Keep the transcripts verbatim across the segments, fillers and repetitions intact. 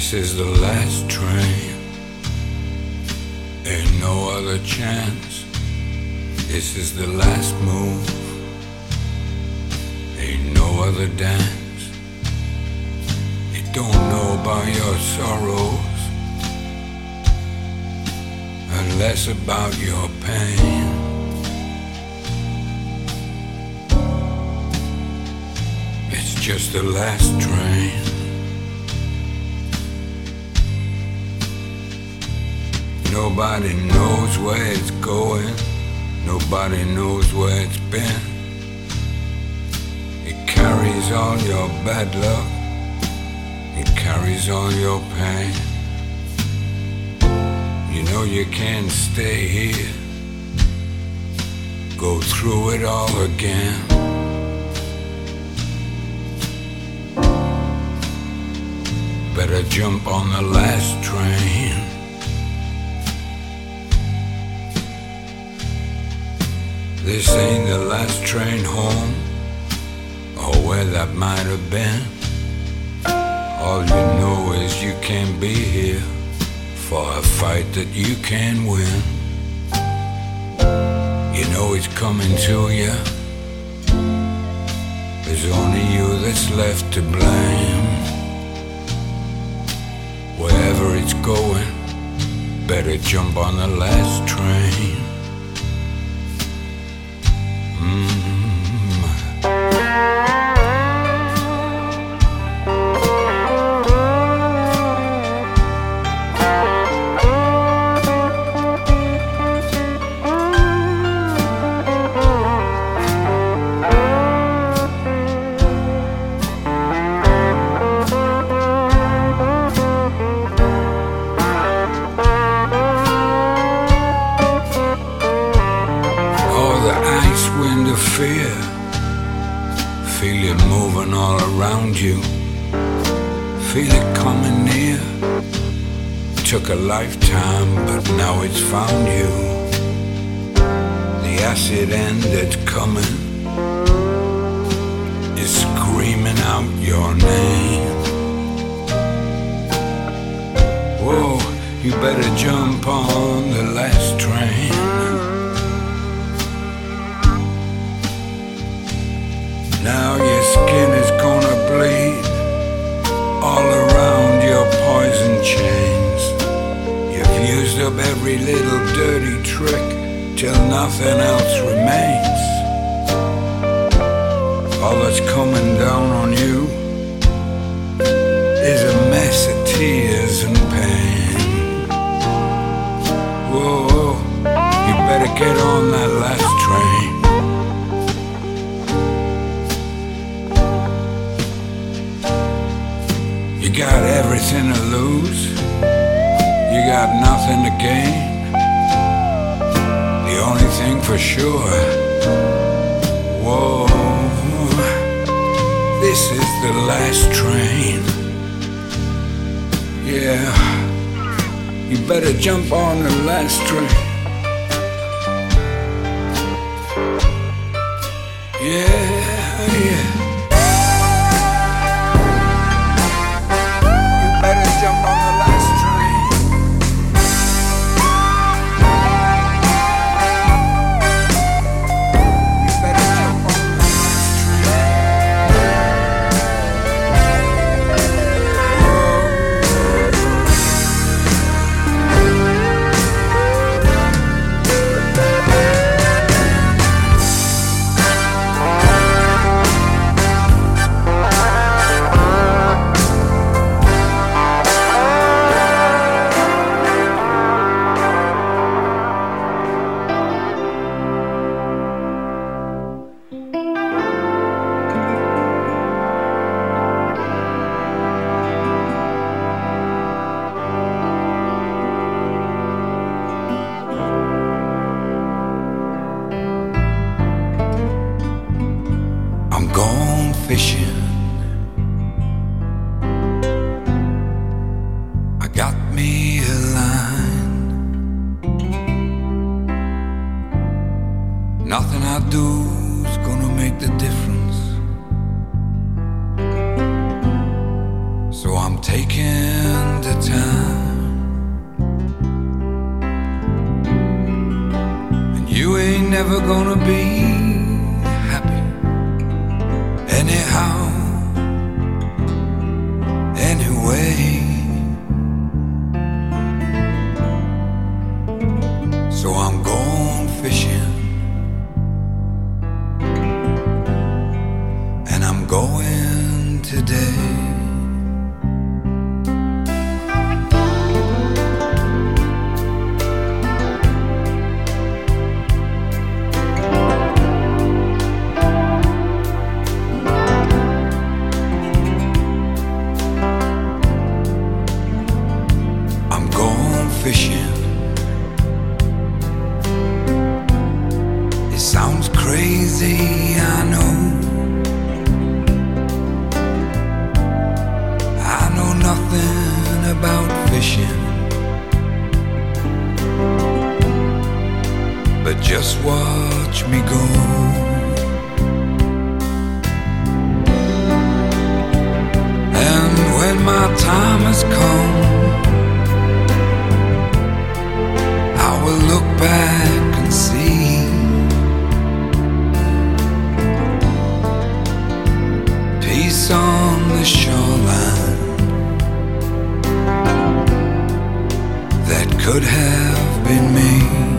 This is the last train, ain't no other chance. This is the last move, ain't no other dance. It don't know about your sorrows, and less about your pain. It's just the last train. Nobody knows where it's going, nobody knows where it's been. It carries all your bad luck, it carries all your pain. You know you can't stay here, go through it all again. Better jump on the last train. This ain't the last train home, or where that might have been. All you know is you can't be here for a fight that you can win. You know it's coming to you, there's only you that's left to blame. Wherever it's going, better jump on the last train. Fear, feel it moving all around you, feel it coming near. Took a lifetime, but now it's found you. The acid end that's coming is screaming out your name. Whoa, you better jump on the last train. Now your skin is gonna bleed all around your poison chains. You've used up every little dirty trick till nothing else remains. All that's coming down on you is a mess of tears and pain. Whoa, you better get on that last train. You got everything to lose, you got nothing to gain. The only thing for sure, whoa, this is the last train. Yeah, you better jump on the last train. Yeah, yeah. Jump on the last train. You better jump on the last fishing. I got me a line. Nothing I do is gonna make the difference. So I'm taking time, and you ain't never gonna be happy anyhow, anyway. So I'm going fishing, and I'm going today. Fishing. It sounds crazy, I know. I know nothing about fishing, but just watch me go. And when my time has come, I will look back and see peace on the shoreline that could have been me.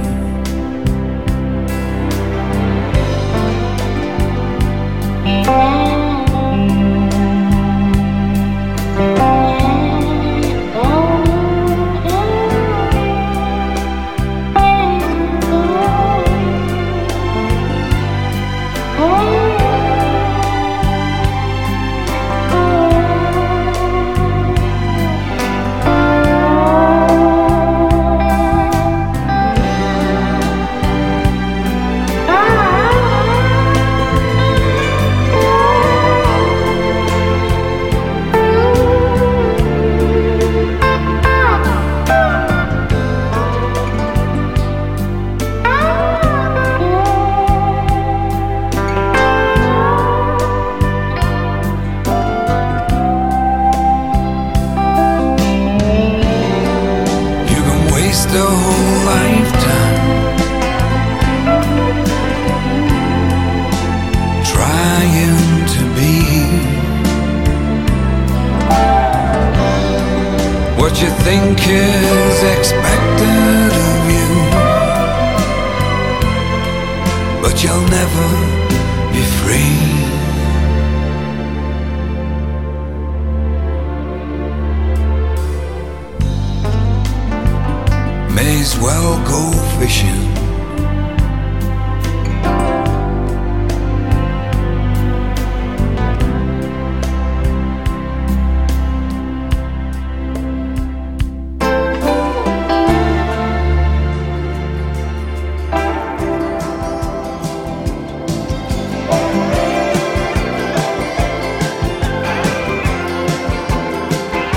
The whole lifetime trying to be what you think is expected of you, but you'll never be free. May as well go fishing.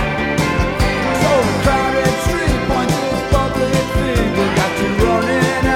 So crowded street, pointless public figure got you running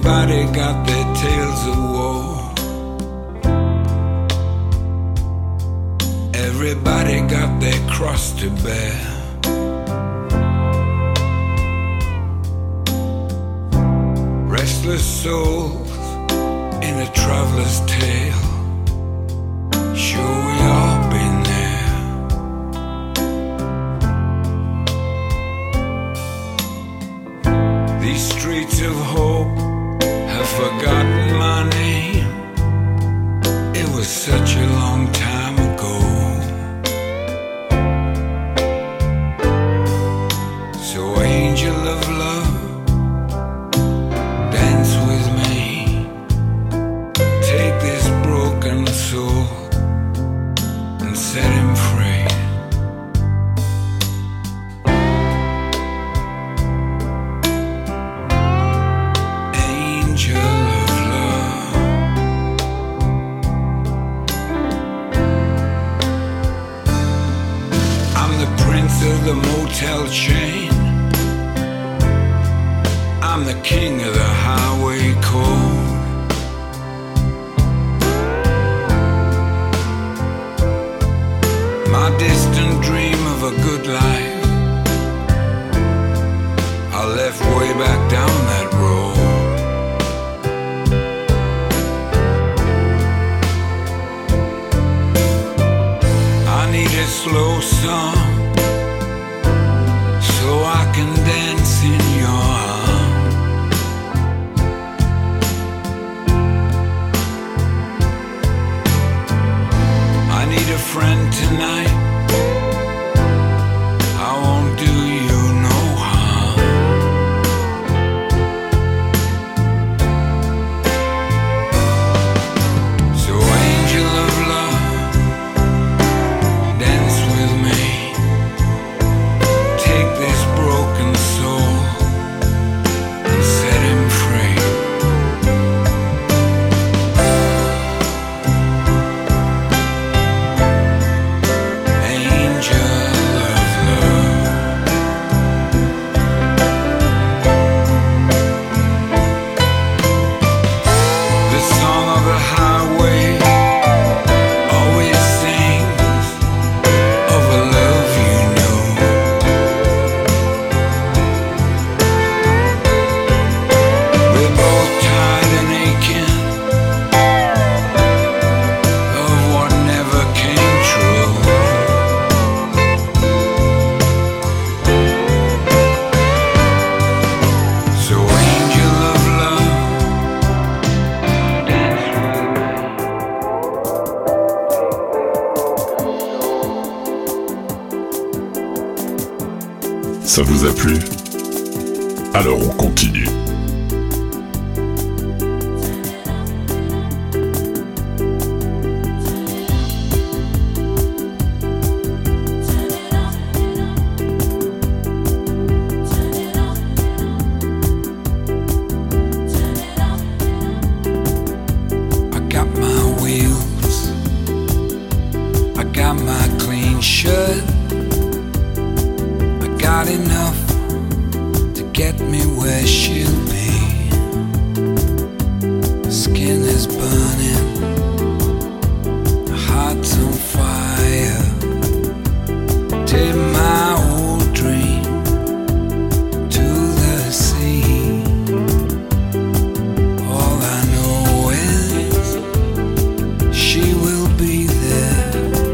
Everybody got their tales of war. Everybody got their cross to bear. Restless souls in a traveler's tale. Sure, we all been there. These streets of hope have forgotten my name. It was such a long time ago. So angel of love, dance with me. Take this broken soul and set him free. Angel of love. I'm the prince of the motel chain. I'm the king of the highway code. My distant dream of a good life, I left way back down that road. I need a slow song so I can dance in your arms. I need a friend tonight. I won't do you no harm. So angel of love, dance with me. Take this broken soul and set him free. Angel of love. The song of the highway always sings of a love you know. We're both tired and aching of what never came true. So angel of love, dance with me. Ça vous a plu? Alors on continue. I got my wheels, I got my clean shirt, I got enough to get me where she'll be. Skin is burning, heart's on fire. Take my old dream to the sea. All I know is she will be there.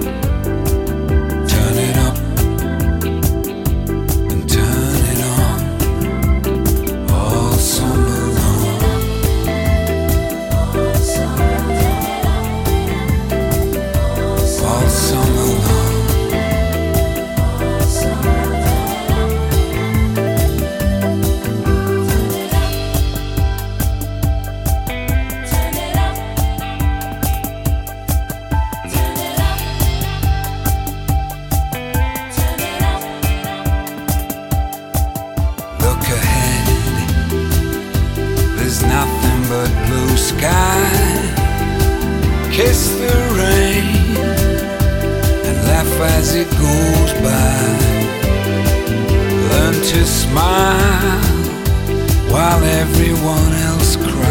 Turn it up and turn it on all summer long. All summer long. Look ahead, there's nothing but blue sky. Kiss the rain and laugh as it goes by. Learn to smile while everyone else cries.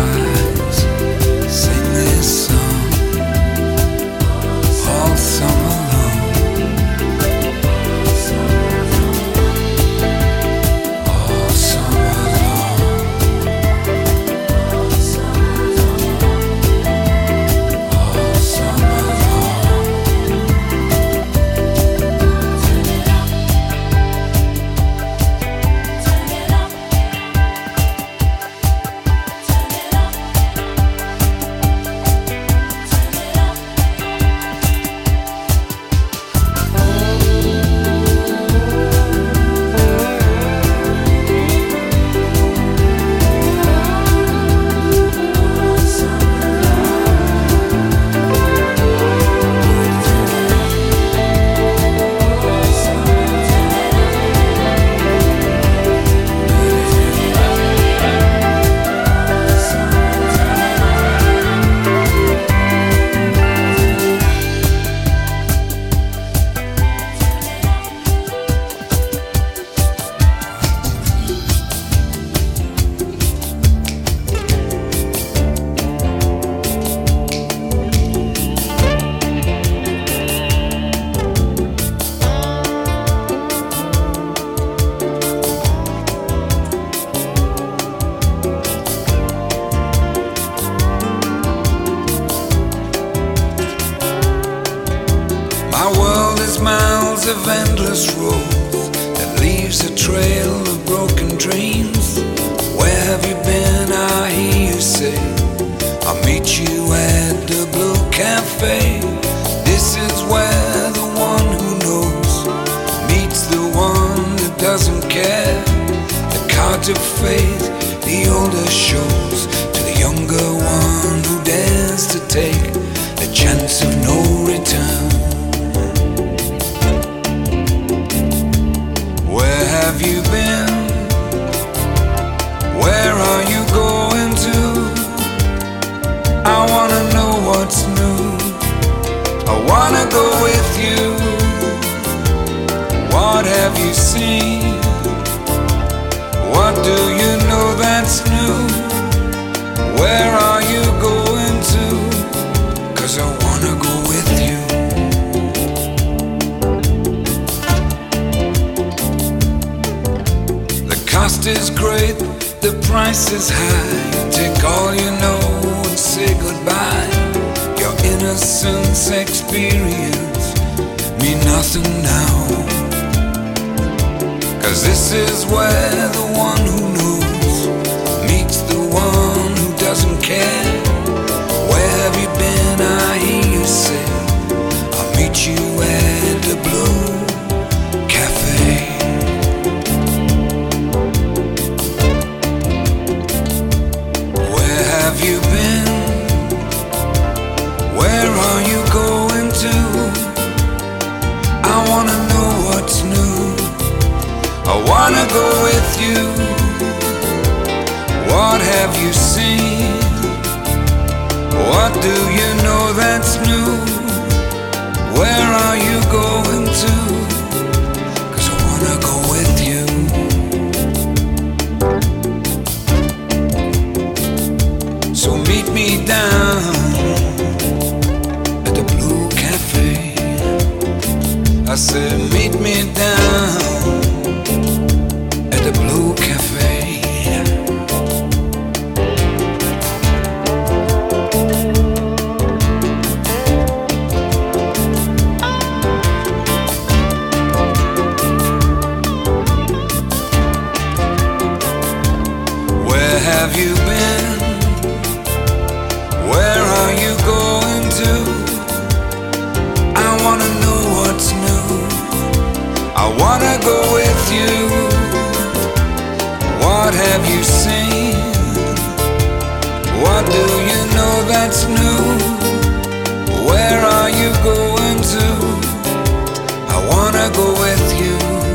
of endless roads that leaves a trail of broken dreams. Where have you been? I hear you say, I'll meet you at the Blue Cafe. This is where the one who knows meets the one that doesn't care. The cards of fate, the older shows to the younger one who dares to take the chance of no return. Where have you been? Where are you going to? I wanna know what's new. I wanna go with you. What have you seen? What do you know that's new? Where are you going to? 'Cause I wanna go with you. The cost is great, the price is high. Take all you know and say goodbye. Your innocence experience mean nothing now. 'Cause this is where the one who knows meets the one who doesn't care. Where have you been? I hear you say, I'll meet you at the Blue Cafe. Where have you been? Where are you going to? I wanna know what's new. I wanna go with you. What have you seen? What do you know that's new? Where are you going to? 'Cause I wanna go with you. So meet me down at the Blue Cafe. I said meet me down at the Blue Cafe. Where have you been? Where are you going to? I wanna know what's new. I wanna go with you. What have you seen? What do you know that's new? Where are you going to? I wanna go with you.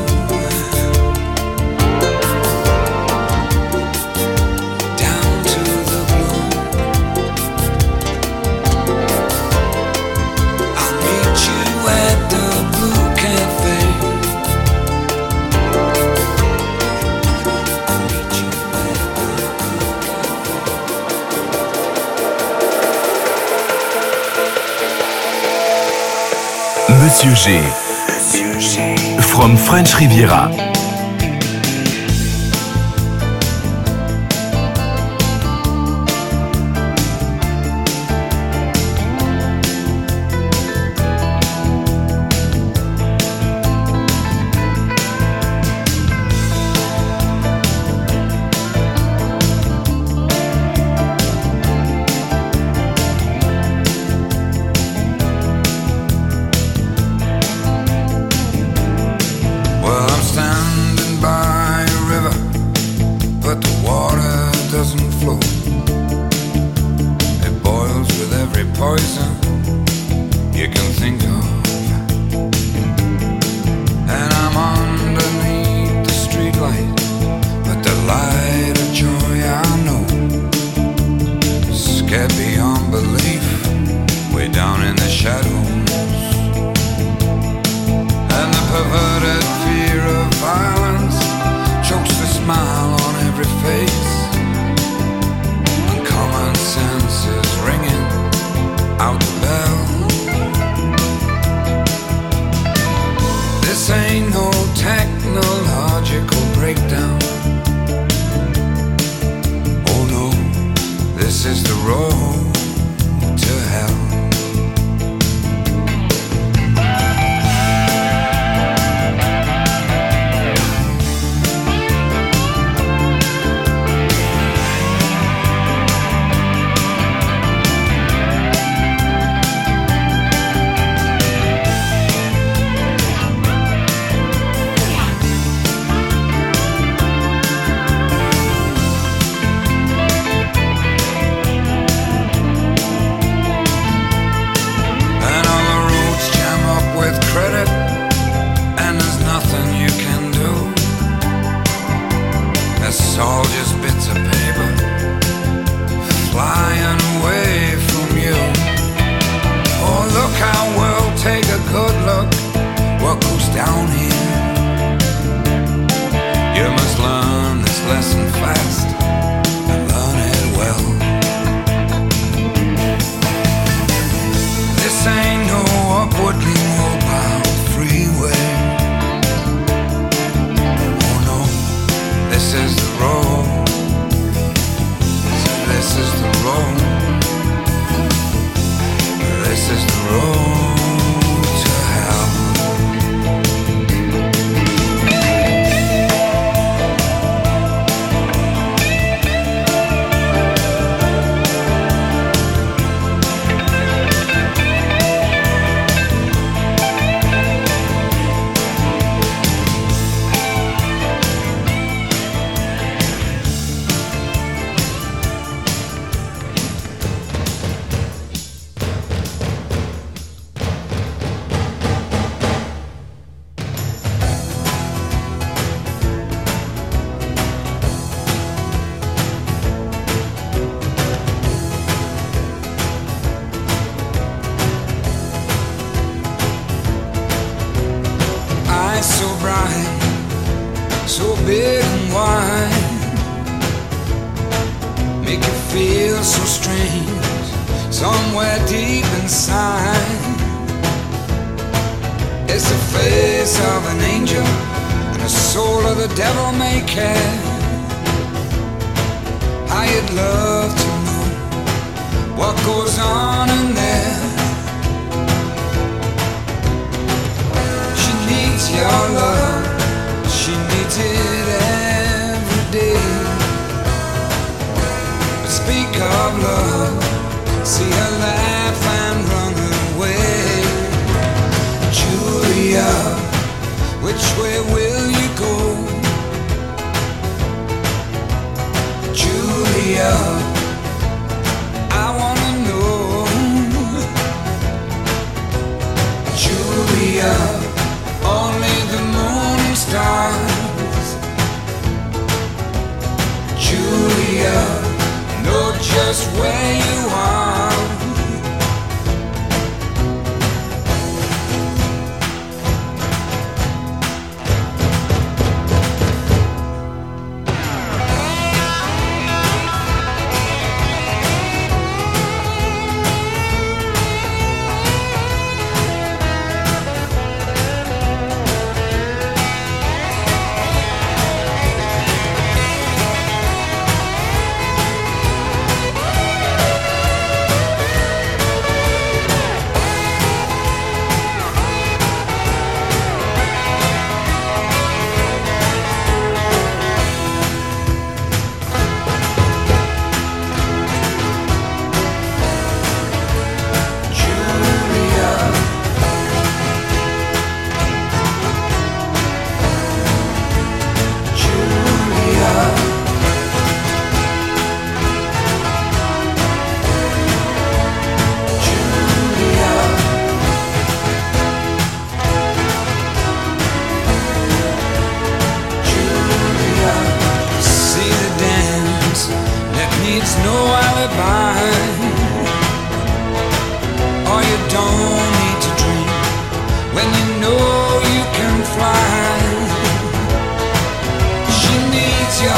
Down to the blue. I'll meet you at the Blue Cafe. I'll meet you at the Monsieur G. From French Riviera.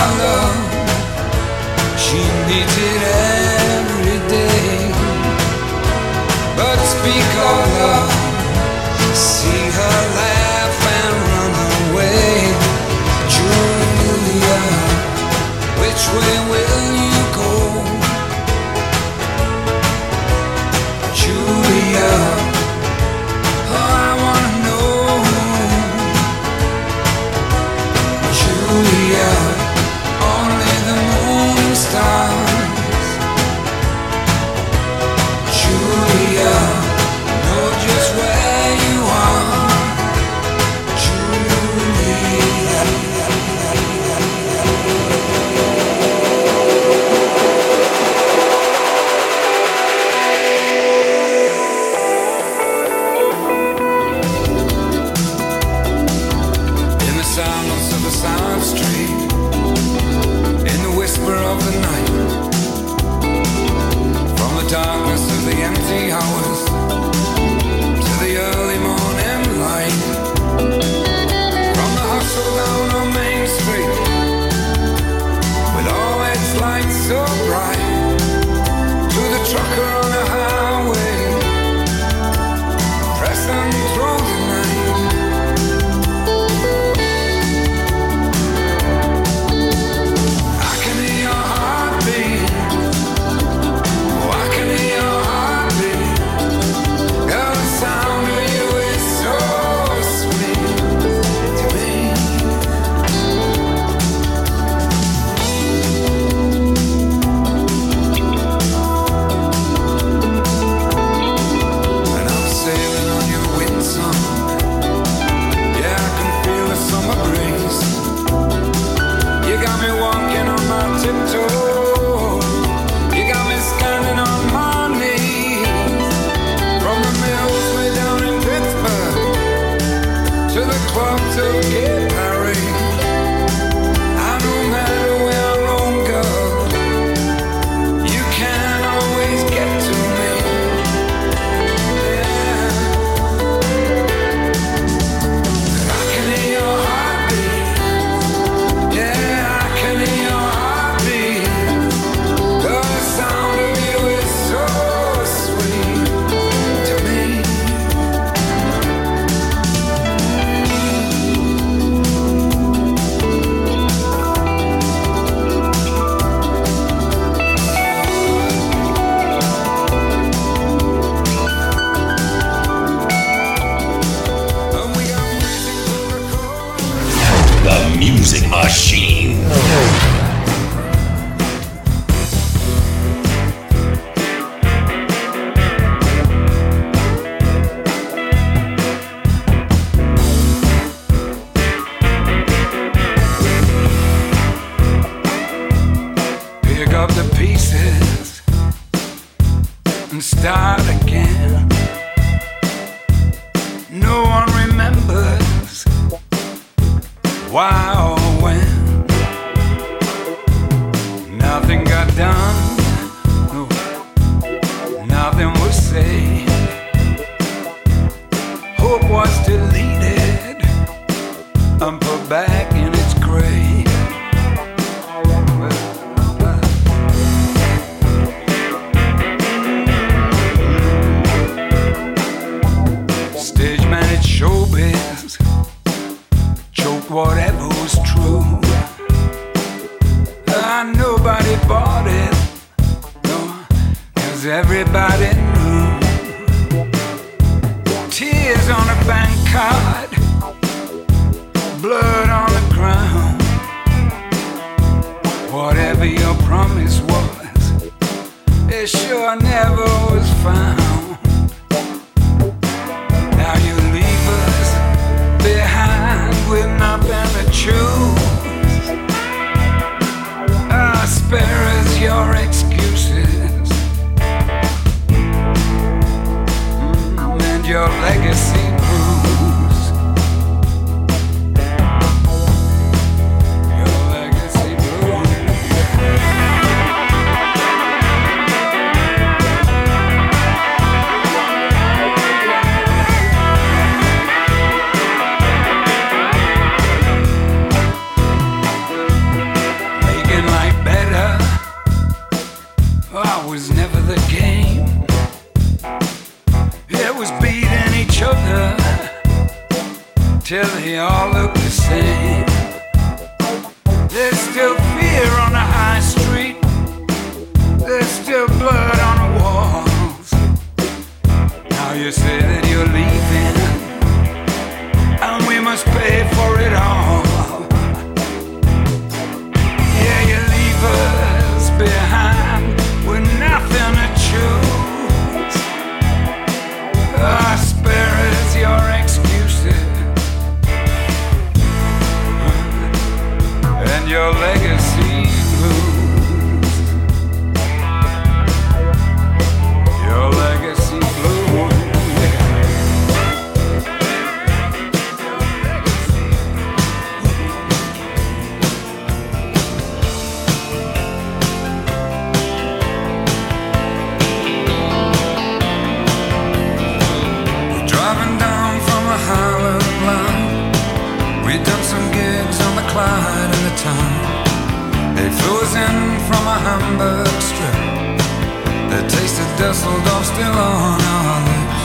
our love. She needs it every day. But speak of love, see her laugh and run away. Julia, which way will you go? Julia, oh, I wanna know. Julia, only the morning stars. Julia, know just where you are. Julia. In the silence of the silent street, in the whisper of the night, from the darkness of the empty hours to the early morning light, from the hustle down on Main Street, with all its lights so bright, to the trucker on the highway, pressing through the night. I can hear your heartbeat. Oh, I can hear your heartbeat. Girl, the sound of you is so sweet to me. And I'm sailing on your wind song. Yeah, I can feel the summer breeze. You got me walking on my tiptoes. You got me standing on my knees. From the mills way down in Pittsburgh to the club to Gay Paris. And no matter where I roam, girl, you can always get to me. Yeah. I can hear your heartbeat. Yeah, I can hear your heartbeat. The sound of you is so sweet to me. And we got music to record. The Music Machine. Pick up the pieces and start again. No one remembers why or when. Nothing got done, no, nothing was said. Hope was deleted and put back in its grave. Stage managed showbiz, choked whatever was true. And nobody bought it, no, 'cause everybody knew. Tears on a bank card, blood on the ground. Whatever your promise was, it sure never was found. Now you leave us behind with nothing to choose. Uh, spare us your excuses. till they all look the same. There's still fear on the high street. There's still blood on the walls. Now you say that you're leaving, and we must pay for it all. Yeah, you leave us behind with nothing to choose. I spare us your excuses and your legacy blues. Your legacy blues. We'd done some gigs on the Clyde and the Tyne. They flew us in from a Hamburg strip. The taste of Dusseldorf still on our lips.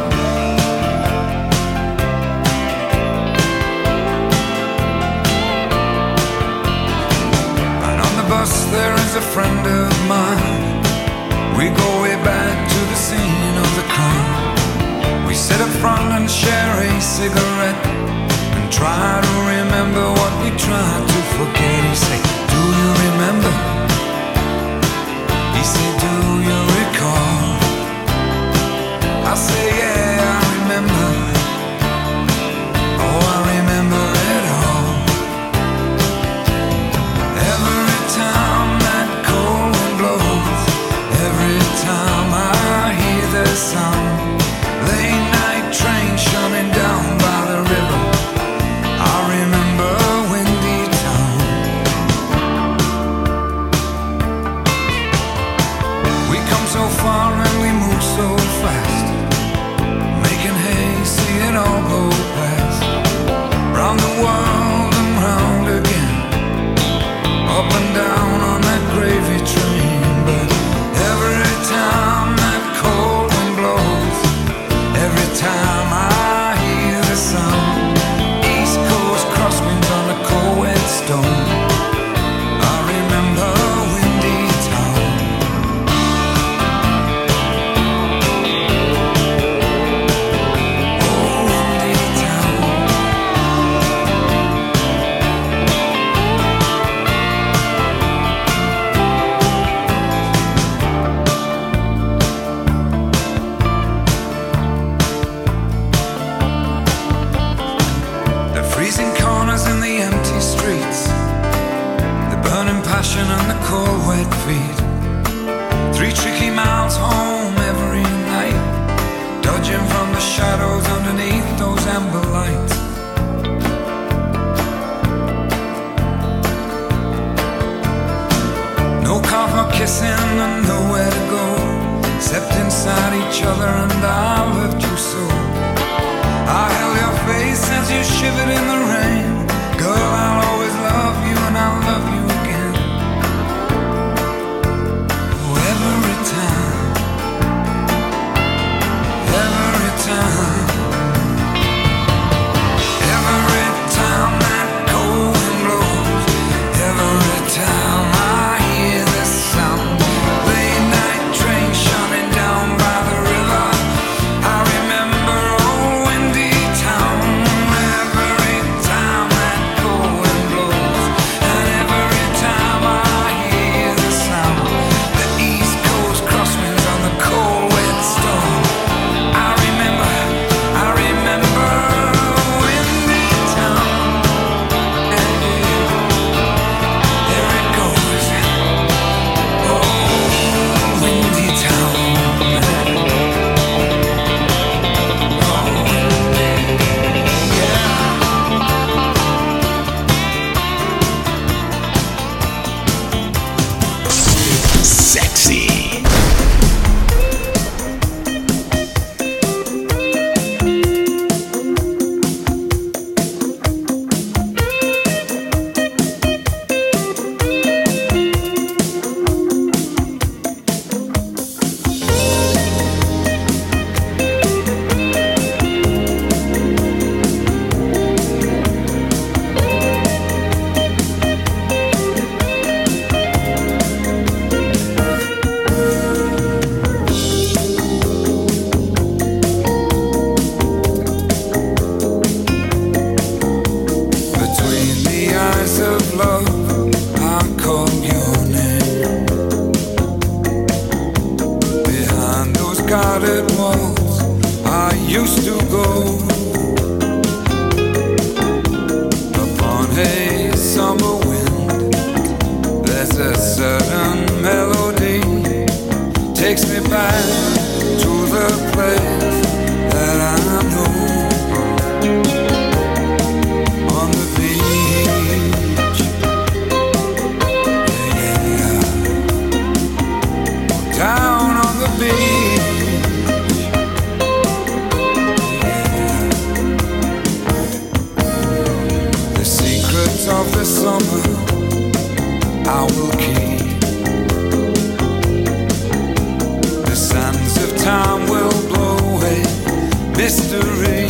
And on the bus there is a friend of mine. We go way back to the scene of the crime. We sit up front and share a cigarette, try to remember what we tried to forget. He said, do you remember? He said, do you recall? I say, yeah, I remember. Oh, I remember it all. Every time that cold wind blows, every time I hear the sound, late night train shunning down by the river, I remember Windy Town. We come so far and we move so fast, making hay, see it all go past. Round the world and round again, up and down on that gravy train. But every time that cold wind blows, every time I hear the sound, crosswinds on a cold wet stone, I remember Windy Town. Oh, Windy Town. The freezing corners in the empty streets, the burning passion and the cold wet feet. Three tricky miles home every night, dodging from the shadows underneath those amber lights. No car for kissing and nowhere to go, except inside each other, and I loved you so. I held your face as you shivered in the rain. Girl, I'll always love you and I'll love you again. Oh, every time the summer I will keep. The sands of time will blow away mystery.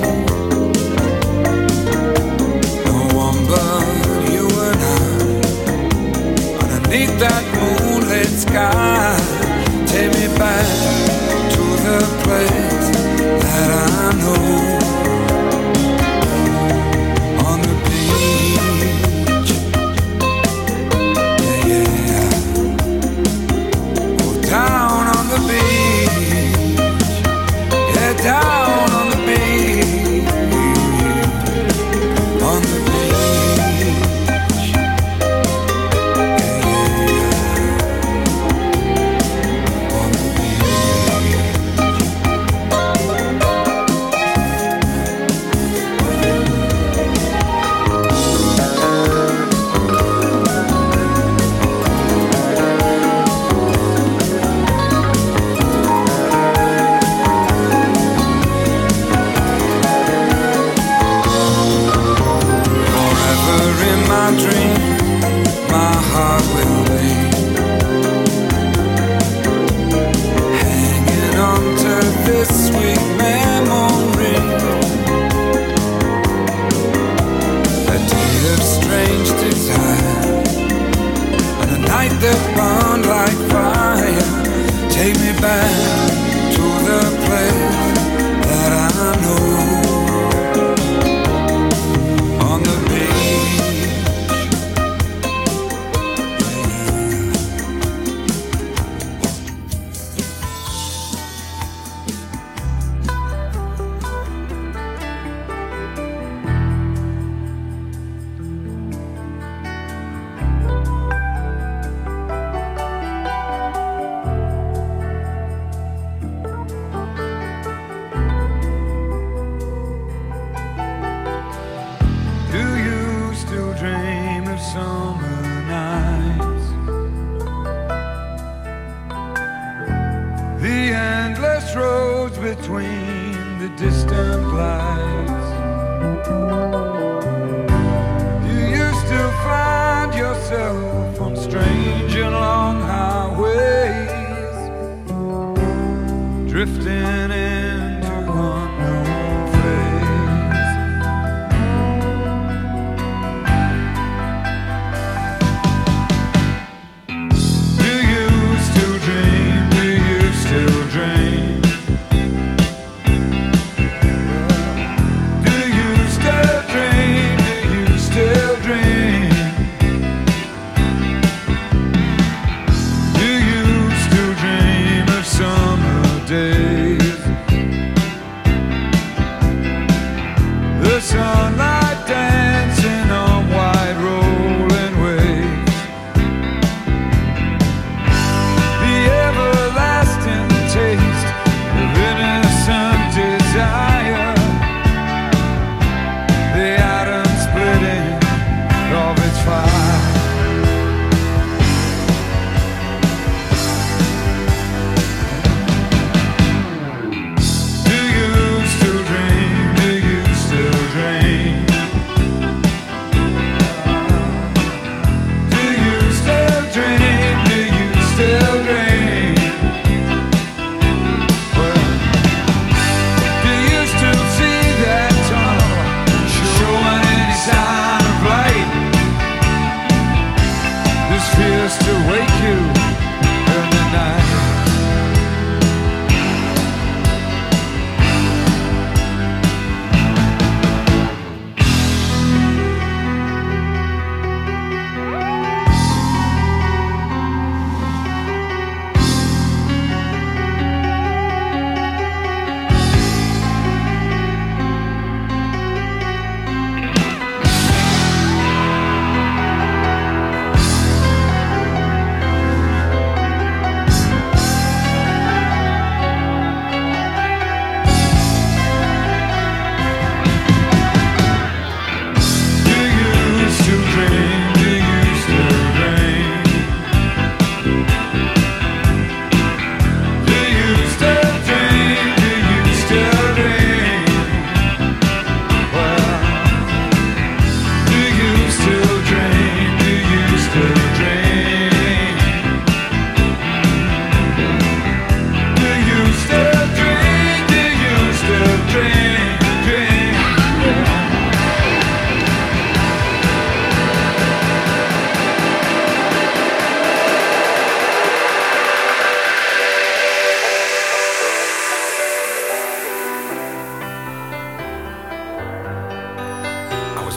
No one but you and I, underneath that moonlit sky. Take me back to the place that I know. On the beach, yeah, yeah. Oh, down on the beach, yeah, down on the beach, on the beach, yeah, yeah, on the dream, my heart will be hanging on to this sweet memory. A day of strange desire and a night that burned like fire. Take me back to the place that I know. On the beach, summer nights, the endless roads between the distant lights. Do you still find yourself on strange and long highways, drifting into unknown place? Days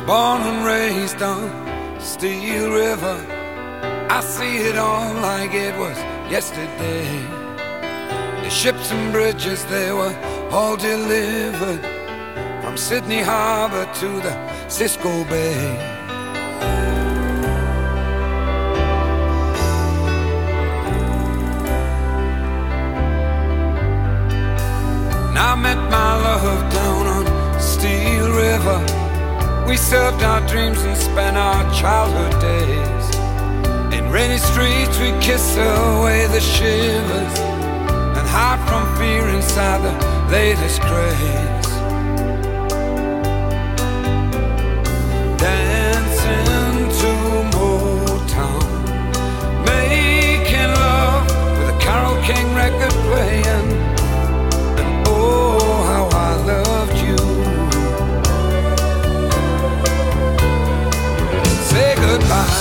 Born and raised on Steel River, I see it all like it was yesterday. The ships and bridges, they were all delivered from Sydney Harbour to the Cisco Bay. And I met my love down on Steel River. We served our dreams and spent our childhood days. In rainy streets we kiss away the shivers and hide from fear inside the latest craze. Dancing to Motown, making love with a Carole King record playing. And oh, how I loved you. Say goodbye.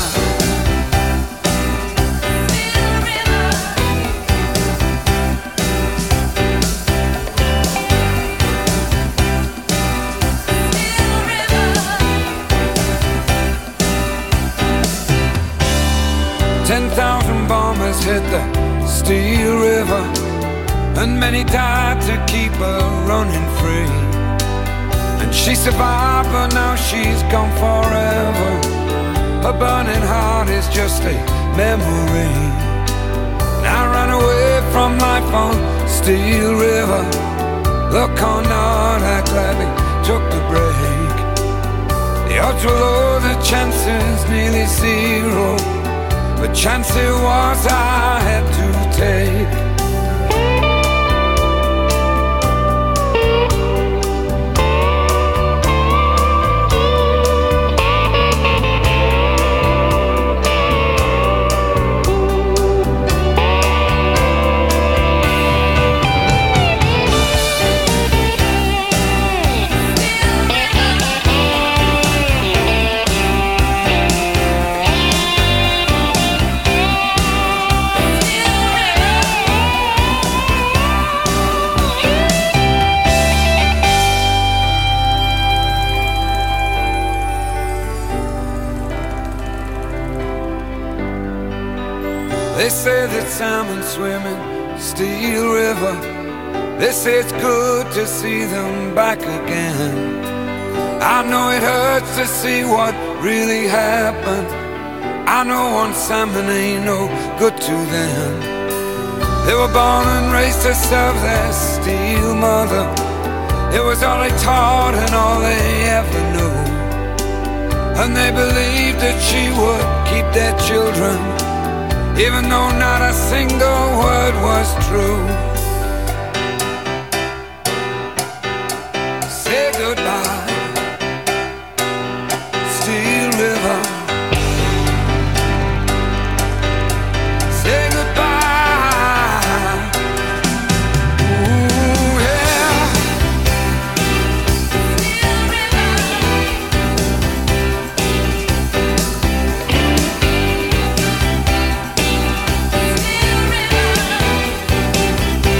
Ten thousand bombers hit the Steel River, and many died to keep her running free. And she survived, but now she's gone forever. Her burning heart is just a memory. And I ran away from life on Steel River. Look or not, I gladly took the break. The odds were low, the chances nearly zero. The chance it was I had to take. They say that salmon swim in Steel River. They say it's good to see them back again. I know it hurts to see what really happened. I know one salmon ain't no good to them. They were born and raised to serve their steel mother. It was all they taught and all they ever knew. And they believed that she would keep their children, even though not a single word was true. Say goodbye, Steel River. Say goodbye. Ooh, yeah. Steel River.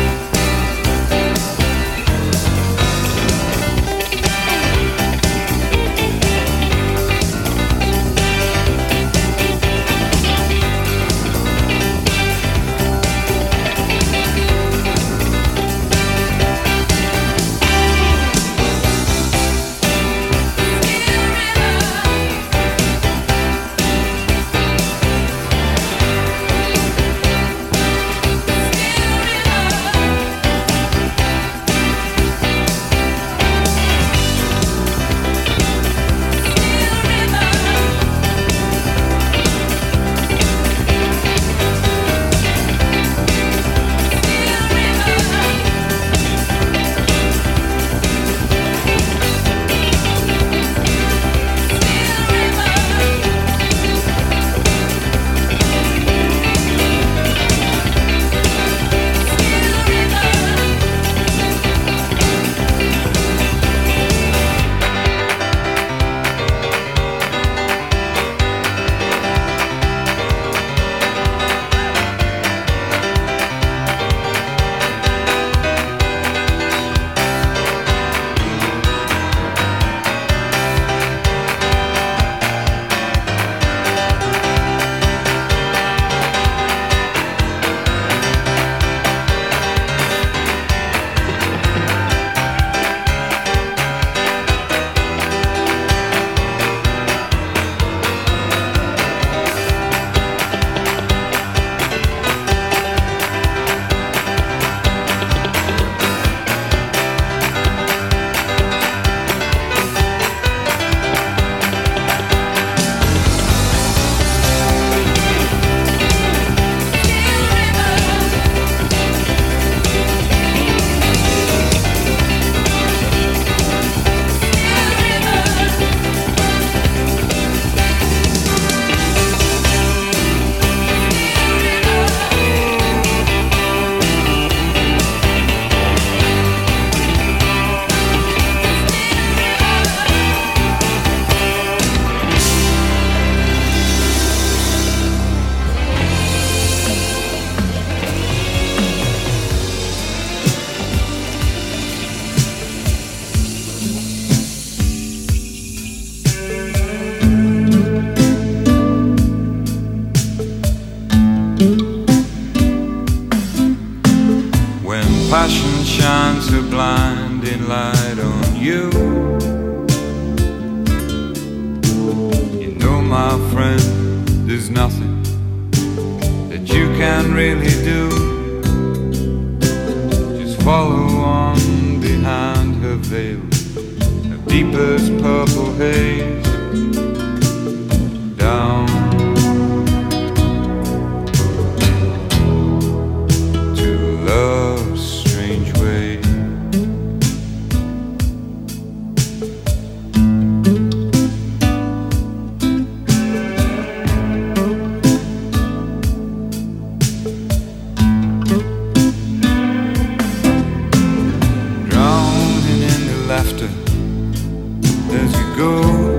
light on you. You know, my friend, there's nothing that you can really do. Just follow on behind her veil of deepest purple haze, down to love's strange way. Drowning in the laughter as you go,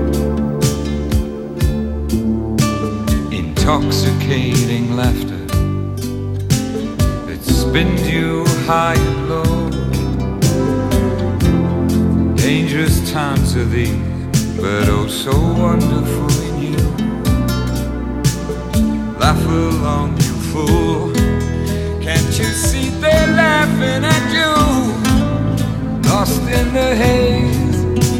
intoxicating laughter that spins you high and low. Dangerous times are these, but oh so wonderful in you. Laugh along, you fool. Can't you see they're laughing at you? Lost in the haze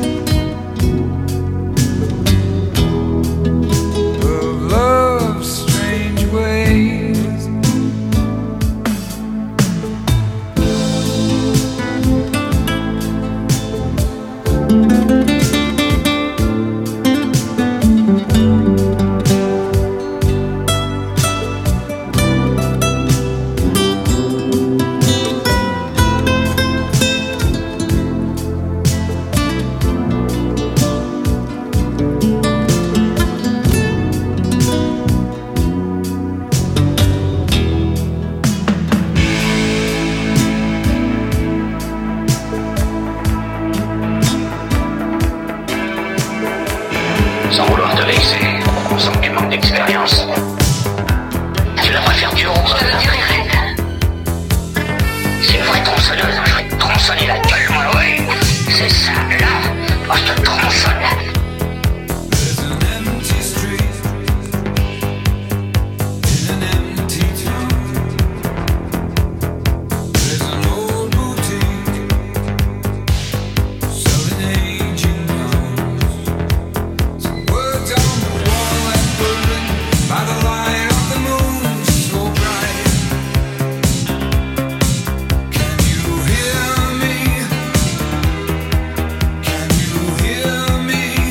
of love's strange ways. Sans vouloir te vexer, sans que tu manques d'expérience, tu devrais faire du rose, je te le dirai. C'est une vraie tronçonneuse, je vais te tronçonner la gueule, moi, oui. C'est ça, là, moi je te tronçonne. There's an empty street in an empty town. There's an old boutique selling aging gowns. Some words on the wall that were written by the light of the moon so bright. Can you hear me? Can you hear me?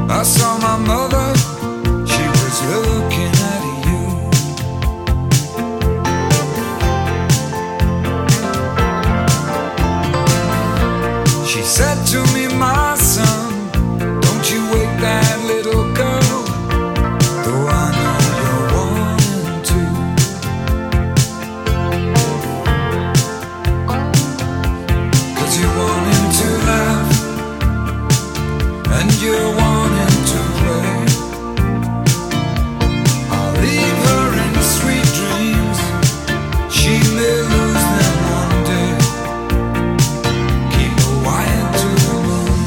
I saw my mother, she was looking at you. She said to me, my son, don't you wake that little girl, though I know you're wanting to. 'Cause you're wanting to laugh, and you're wanting to play. I'll leave her in sweet dreams, she may lose them one day. Keep her wired to the moon.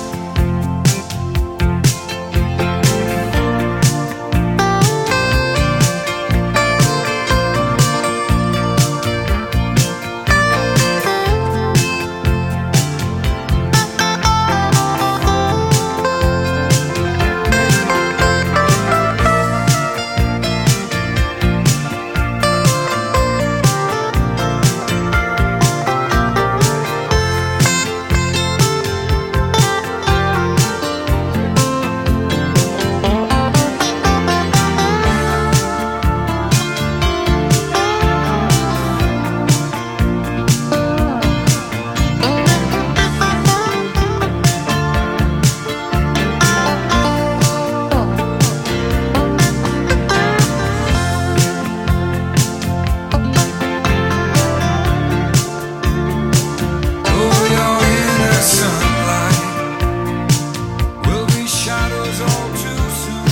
Over your innocent light will be shadows all too soon.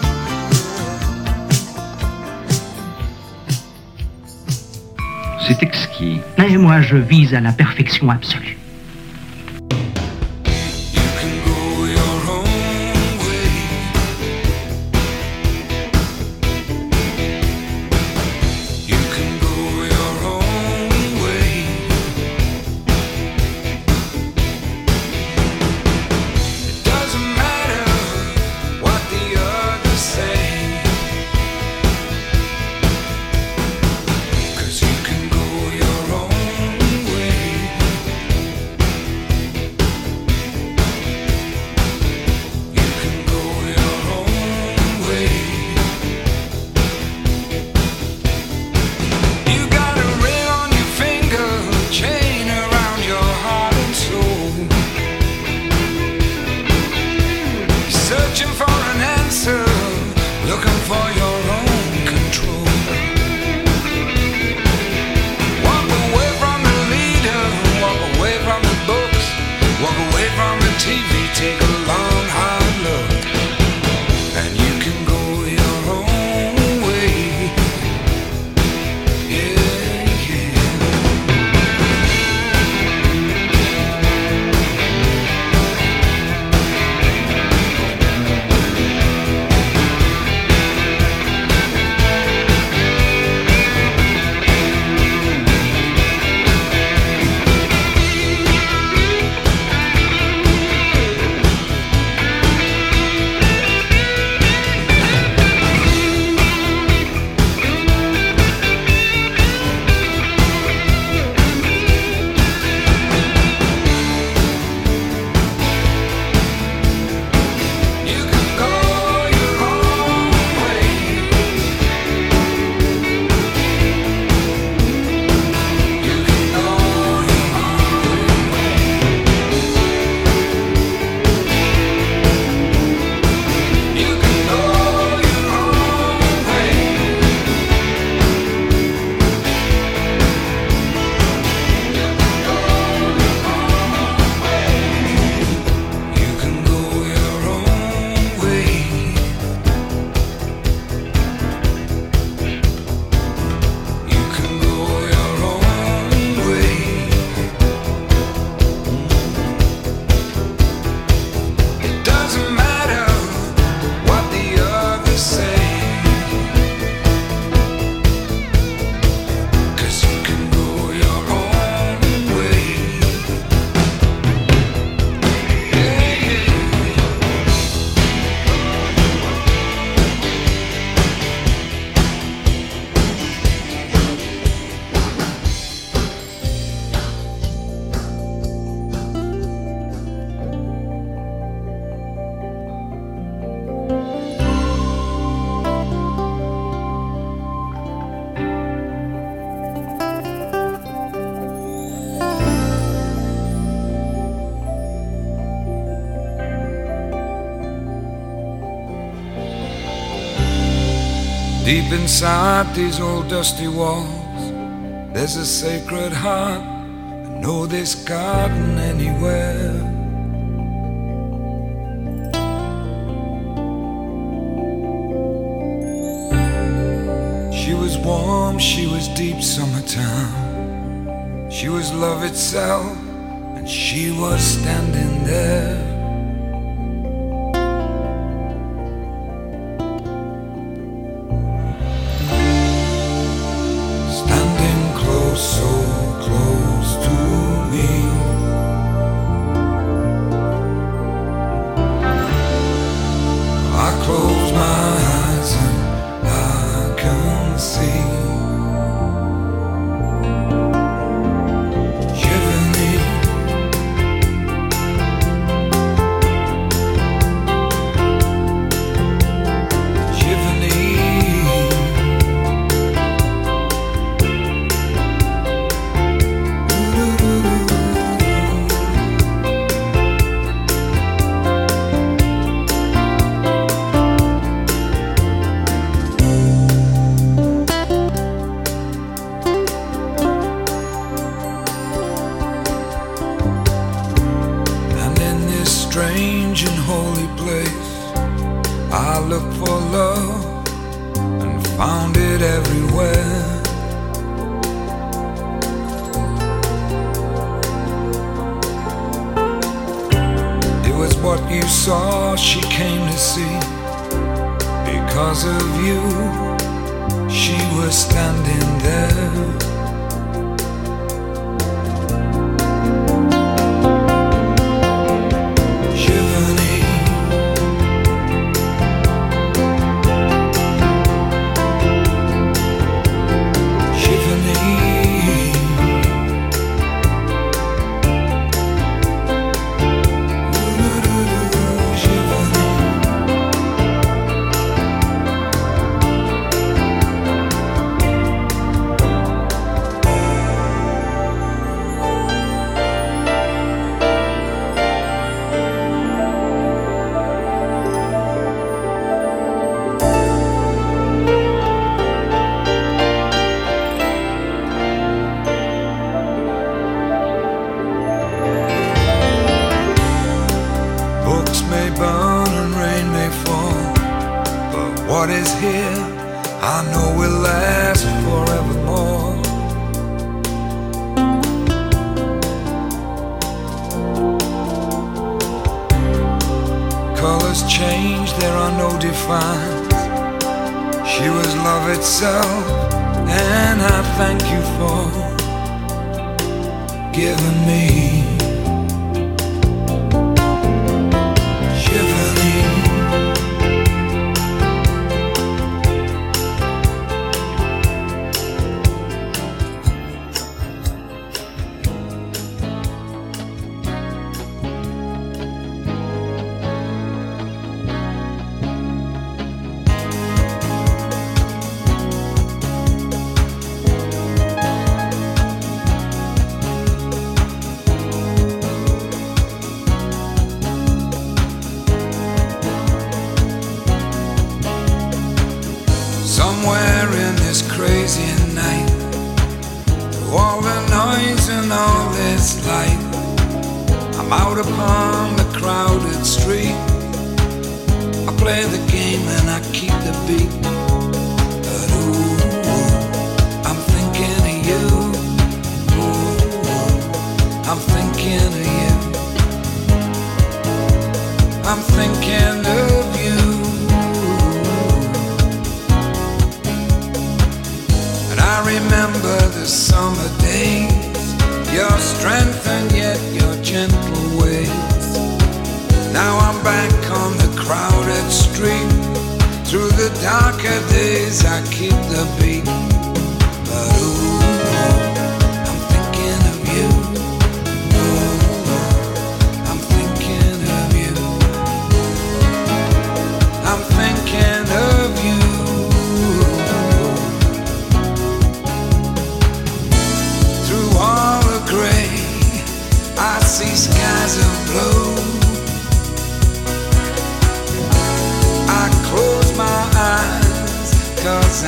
C'est exquis. Et moi, je vise à la perfection absolue. You can go your own way. You can go your own way. It doesn't matter what the others say, 'cause you can go your own way. You can go your own way. You got a ring on your finger, a chain around your heart and soul. Searching for an answer, looking for your own control. Walk away from the leader, walk away from the books, walk away from the T V, take a long hard look, and you can go your own way. Yeah, yeah. Deep inside these old dusty walls, there's a sacred heart. I know this garden anywhere. She was warm, she was deep summertime. She was love itself, and she was standing there. So close to me, I close my eyes and I can see. Shiver me, shiver me. Strange and holy place, I looked for love and found it everywhere. It was what you saw she came to see. Because of you, she was standing there. What is here, I know will last forevermore. Colors change, there are no defines. She was love itself, and I thank you for giving me. Somewhere in this crazy night, through all the noise and all this light, I'm out upon the crowded street. I play the game and I keep the beat. But ooh, I'm thinking of you. Ooh, I'm thinking of you. I'm thinking of you. I remember the summer days, your strength and yet your gentle ways. Now I'm back on the crowded street. Through the darker days I keep the beat. But ooh, I'm thinking of you. Ooh, I'm thinking of you. I'm thinking of you. I see skies of blue. I close my eyes, 'cause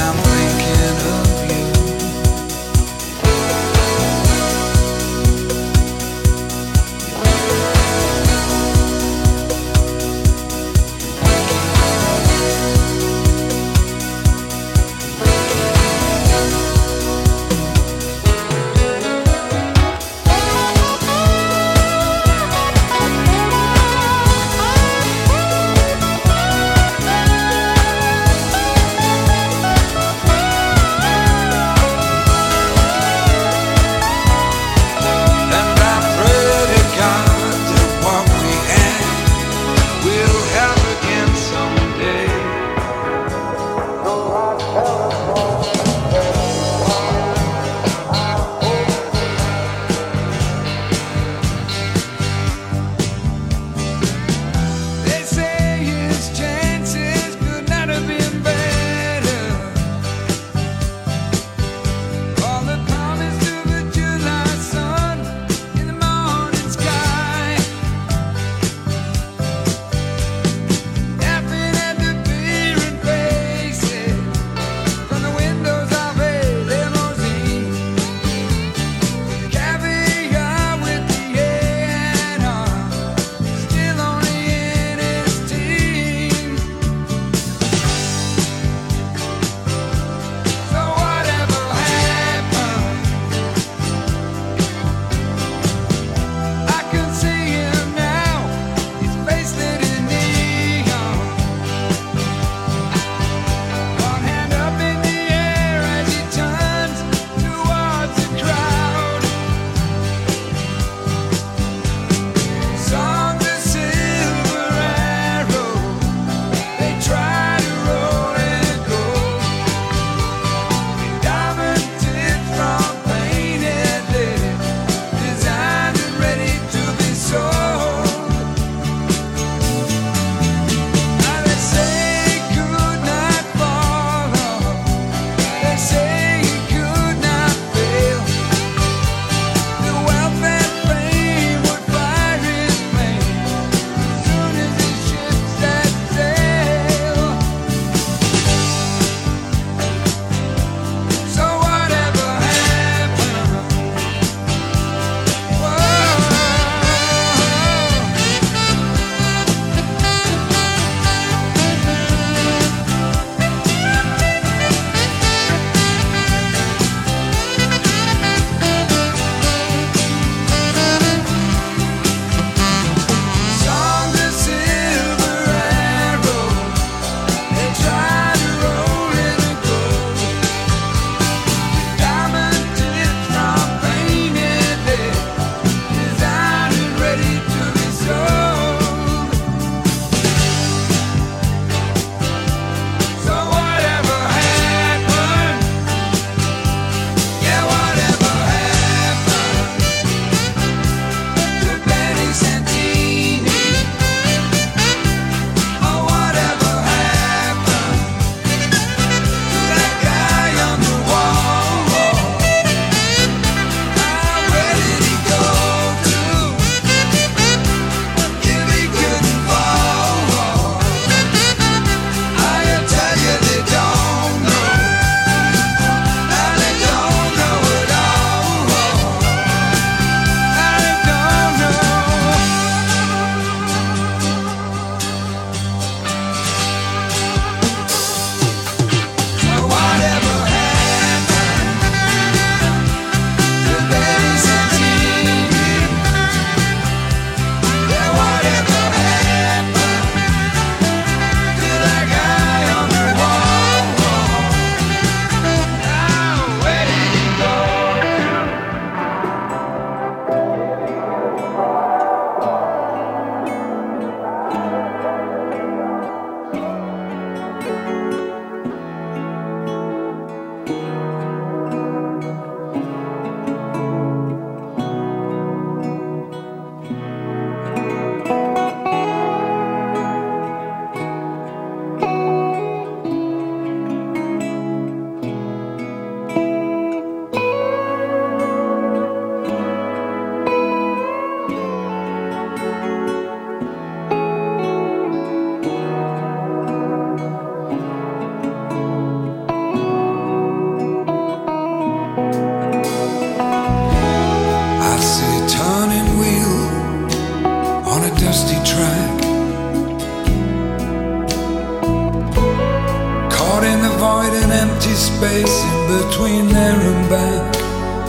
empty space in between there and back.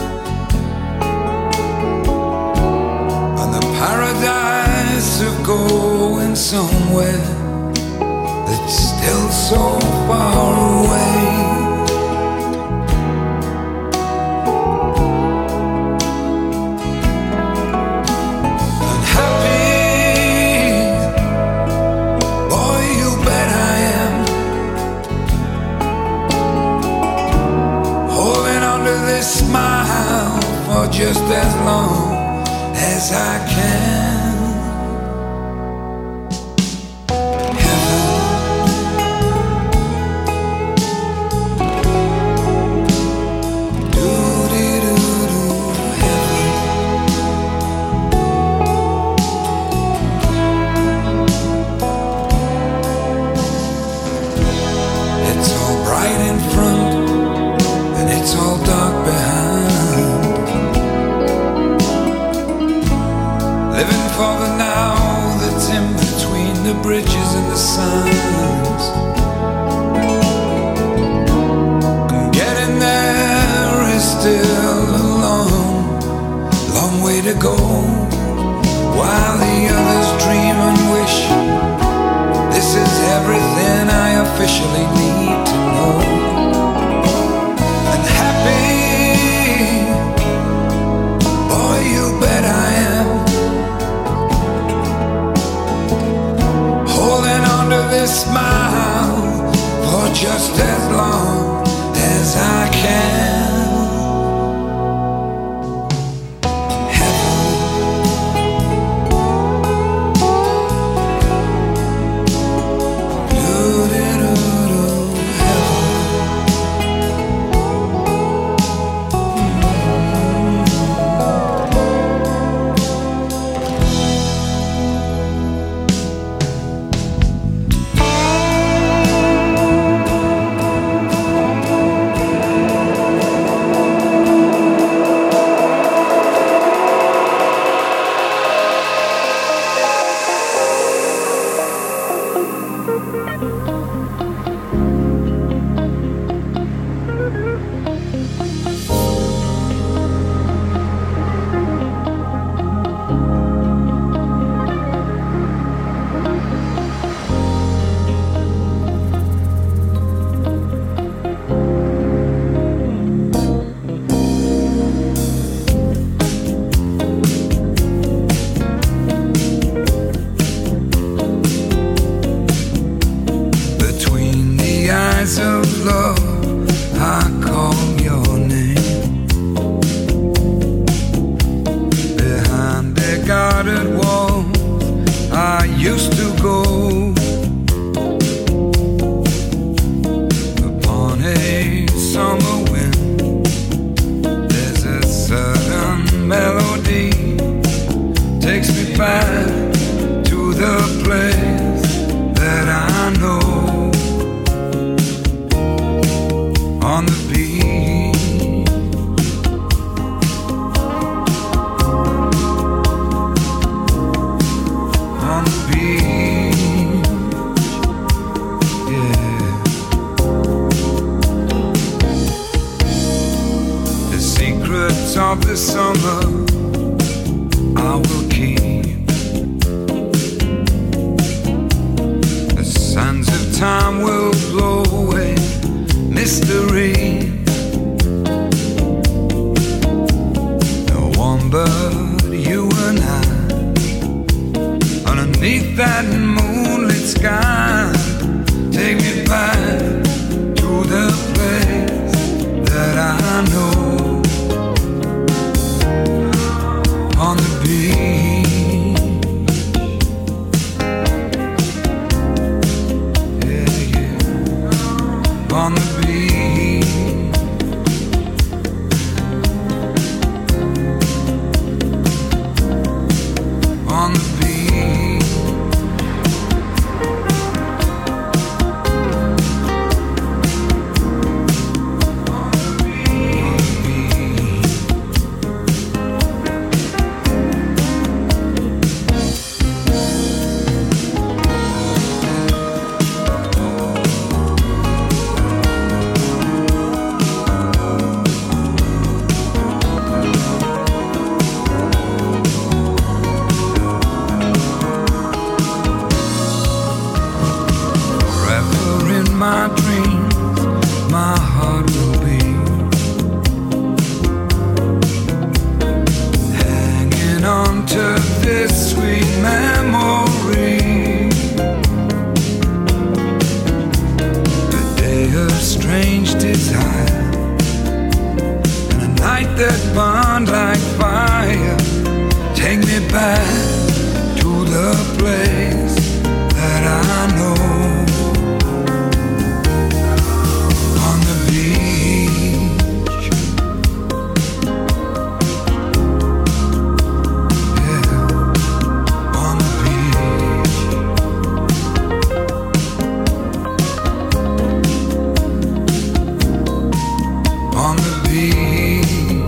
And the paradise of going somewhere that's still so far away. Smile for just as long as I can. Heaven, doo-dee-doo-doo, heaven. It's all bright in front, it's all dark behind. Living for the now that's in between the bridges and the signs. And getting there is still a long, long way to go. While the others dream and wish, this is everything I officially need to know. Smile for just as long as I can. Of the summer I will keep. The sands of time will blow away mystery. No one but you and I underneath that moonlit sky. Take me back to the place that I know. On the beach, yeah, yeah. On the beach. my dreams, my heart will be hanging on to this sweet memory. A day of strange desire and a night that burned like fire. Take me back to the place that I know. On the beach, yeah, on the beach, on the beach.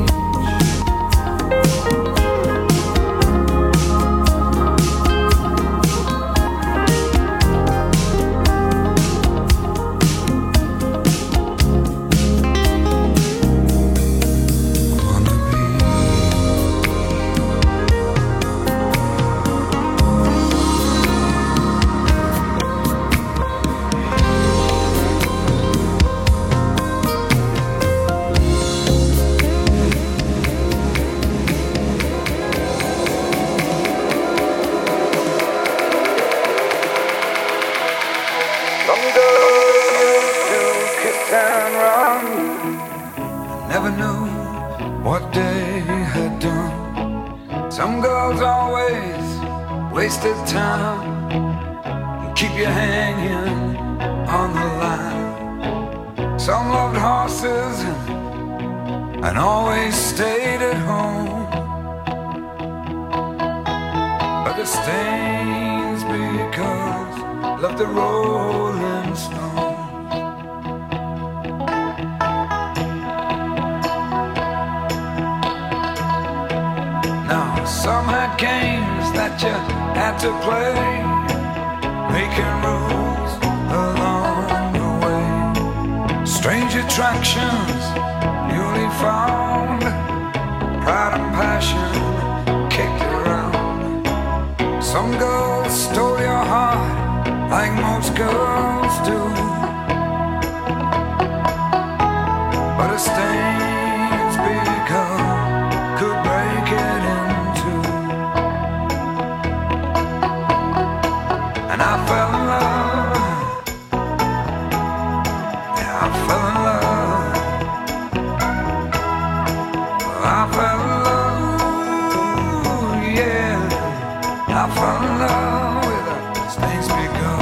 Never knew what they had done. Some girls always wasted time. Keep you hanging on the line. Some loved horses and always stayed at home. But the stains because loved the Rolling Stones. Some had games that you had to play, making rules along the way. Strange attractions newly found, pride and passion kicked around. Some girls stole your heart like most girls do, but a stain's because could break it in. And I fell in love, yeah, I fell in love, I fell in love, yeah, I fell in love with a stain's because.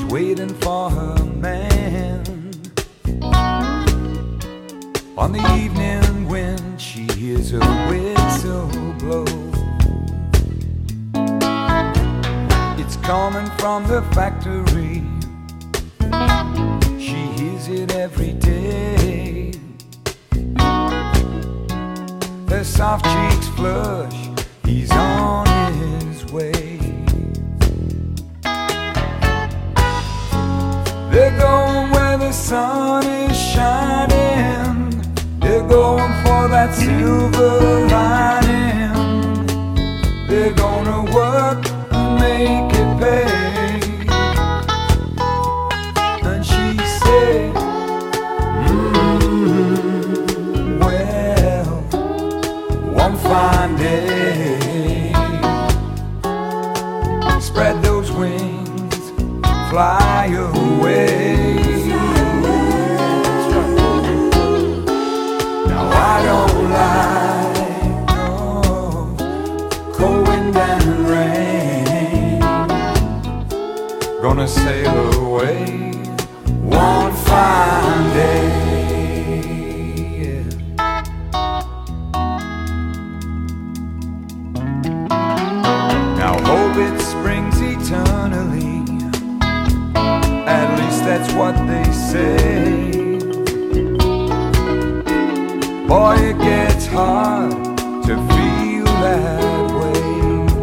waiting for her man. On the evening when she hears her whistle blow, it's coming from the factory. She hears it every day. Her soft cheeks flush, he's on his way. They're going where the sun is shining. They're going for that silver lining. They're gonna work and make it pay. And she said, mm, well, one fine day, spread those wings, fly away. I don't like no cold wind and rain. Gonna sail away one fine day, yeah. Now hope it springs eternally, at least that's what they say. Boy, it gets hard to feel that way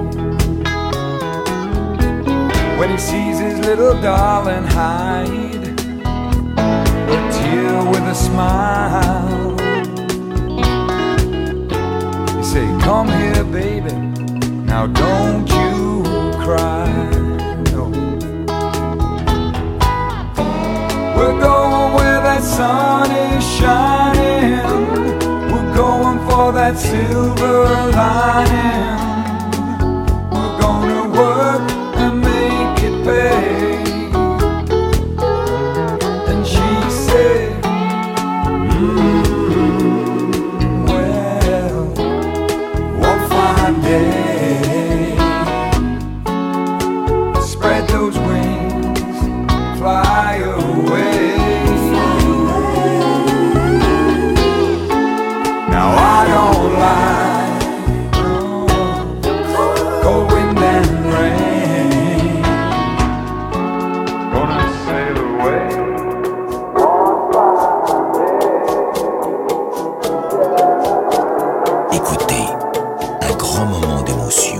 when he sees his little darling hide a tear with a smile. You say, come here, baby, now don't you cry. No. We're going where that sun is shining. Going for that silver lining. We're gonna work and make it pay. And she said, mm, well, one fine day, spread those wings, fly away. I don't like no cold wind and rain. Gonna sail away. Écoutez, un grand moment d'émotion.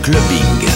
clubbing.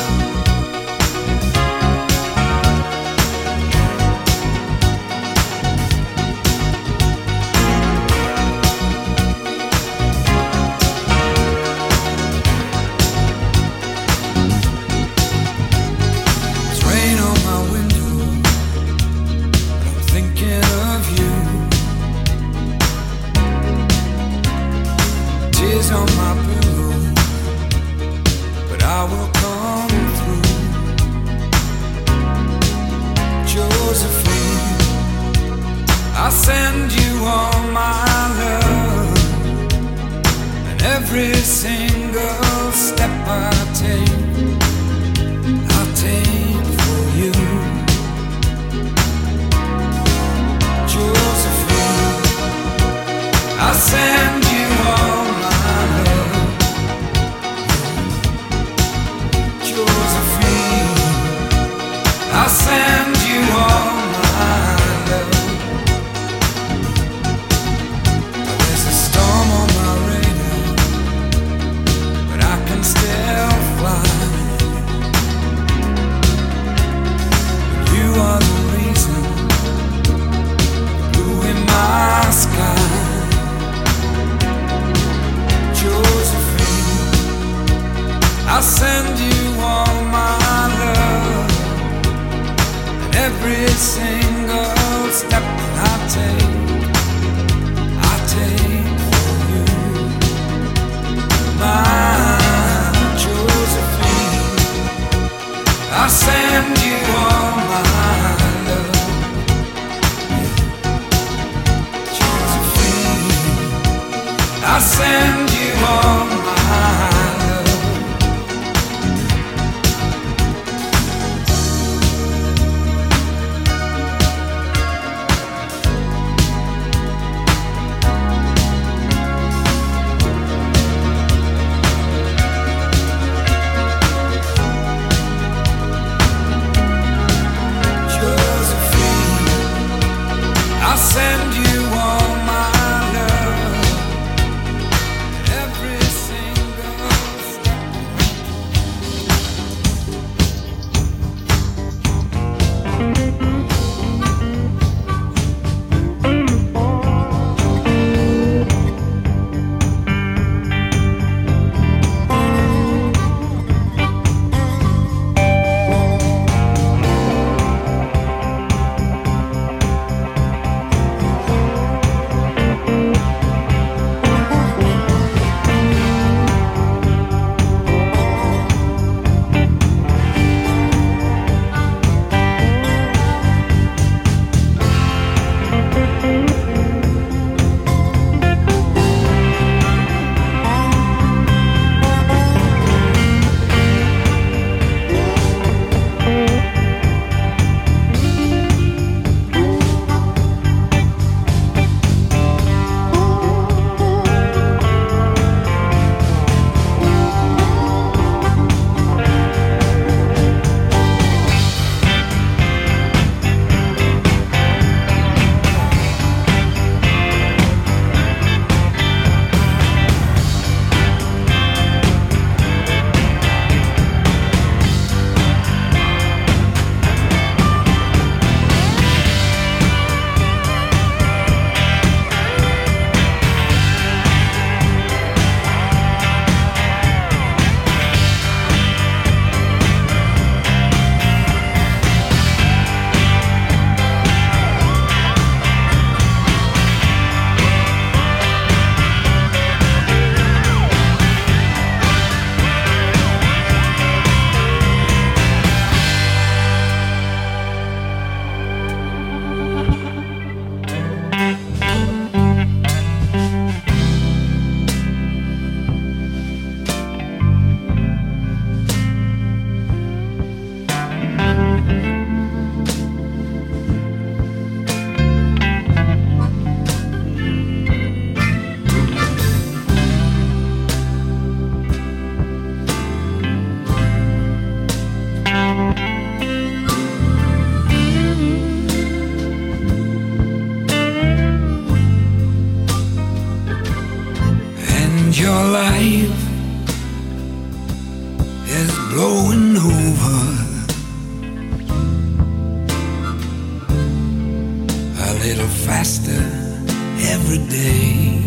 little faster every day.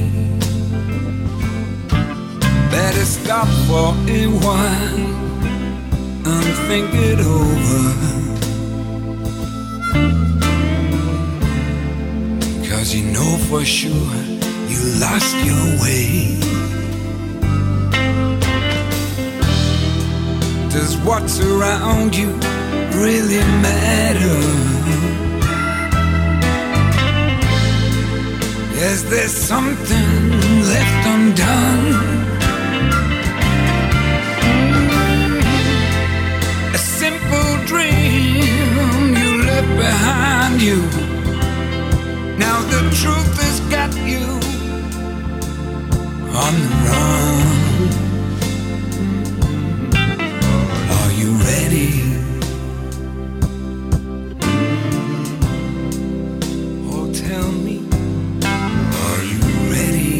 Better stop for a while and think it over, 'cause you know for sure you lost your way. Does what's around you really matter? Is there something left undone? A simple dream you left behind you. Now the truth has got you on the run. Are you ready? Oh, tell me, are you ready?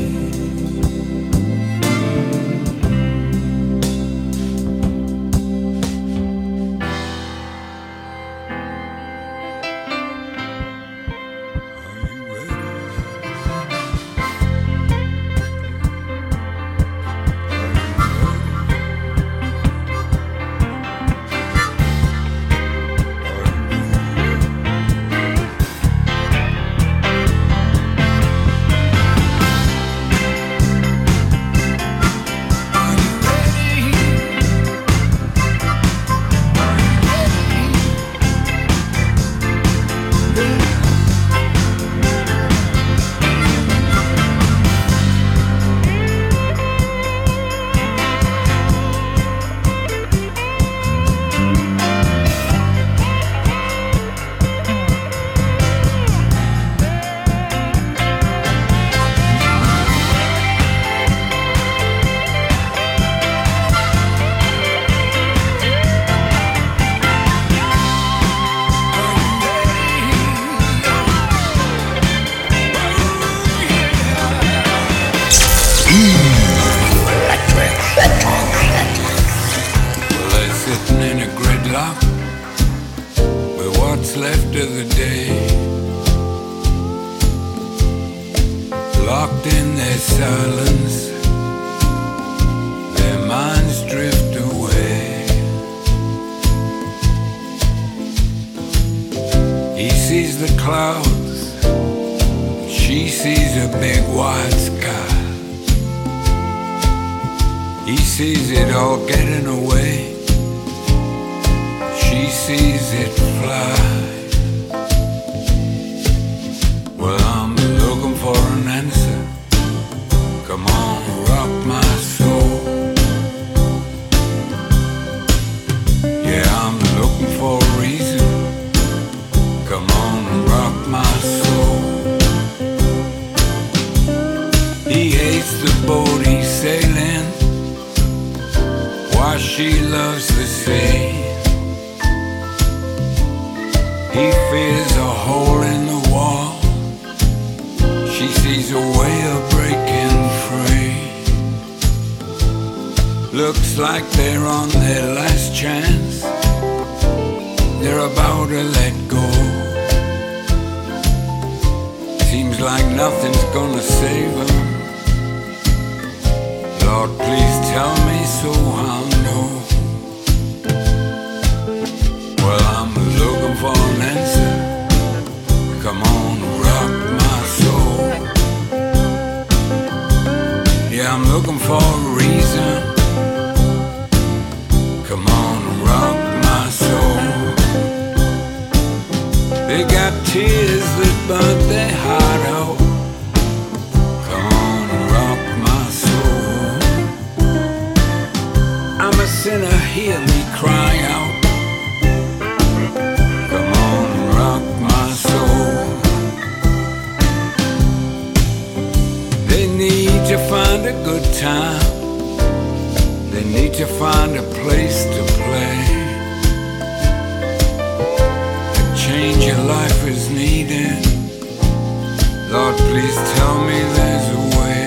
Lord, please tell me there's a way.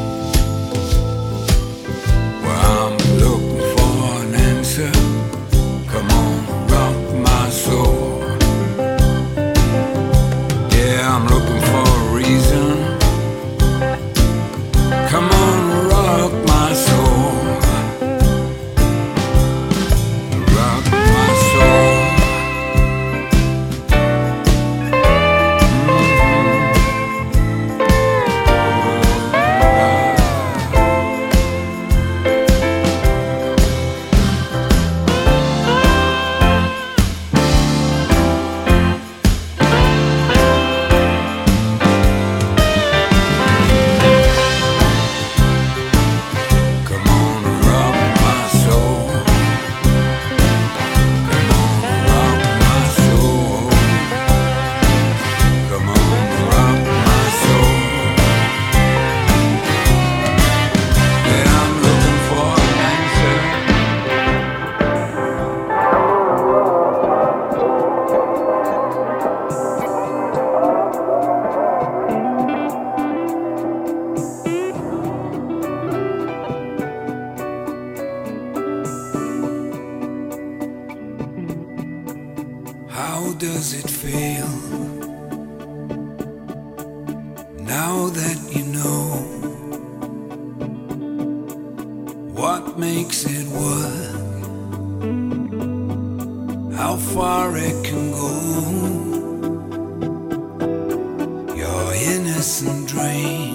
Well, I'm looking for an answer. Come on, rock my soul. Yeah, I'm looking for a reason. Come on, rock my soul. Rock my soul. How does it feel now that you know what makes it work, how far it can go? Your innocent dream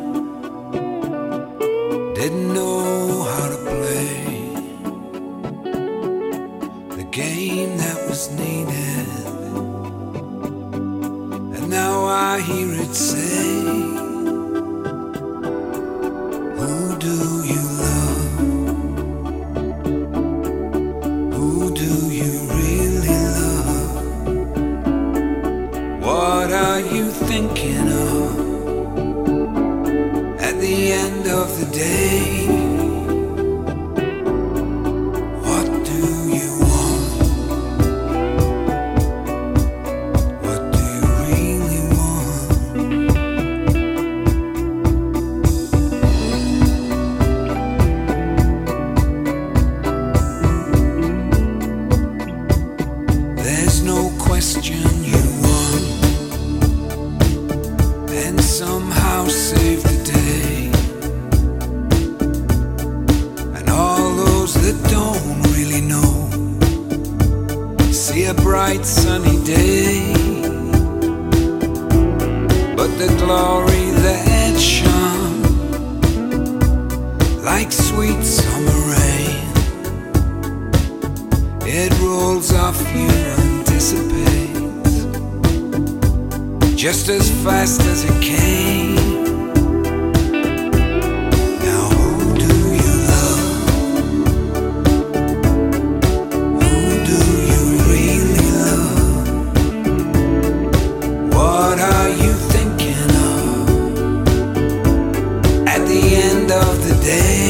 didn't know how to play the game that was needed. Now I hear it say, who do you love? Who do you really love? What are you thinking of at the end of the day? Somehow save the day, and all those that don't really know see a bright sunny day, but the glory that shone like sweet summer rain, it rolls off you and dissipates just as fast as it came. Now who do you love? Who do you really love? What are you thinking of at the end of the day?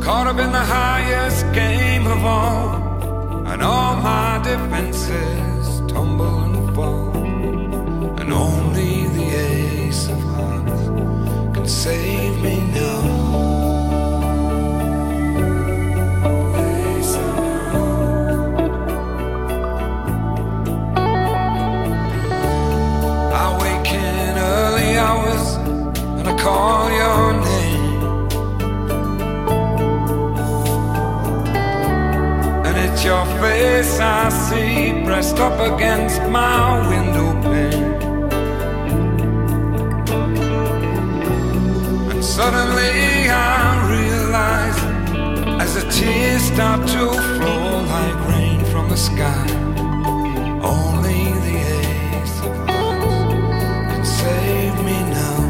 Caught up in the highest game of all, and all my defenses tumble and fall, and only the ace of hearts can save me now. Ace of hearts. I wake in early hours and I call your name. Your face I see pressed up against my window pane, and suddenly I realize, as the tears start to flow like rain from the sky, only the ace of hearts can save me now.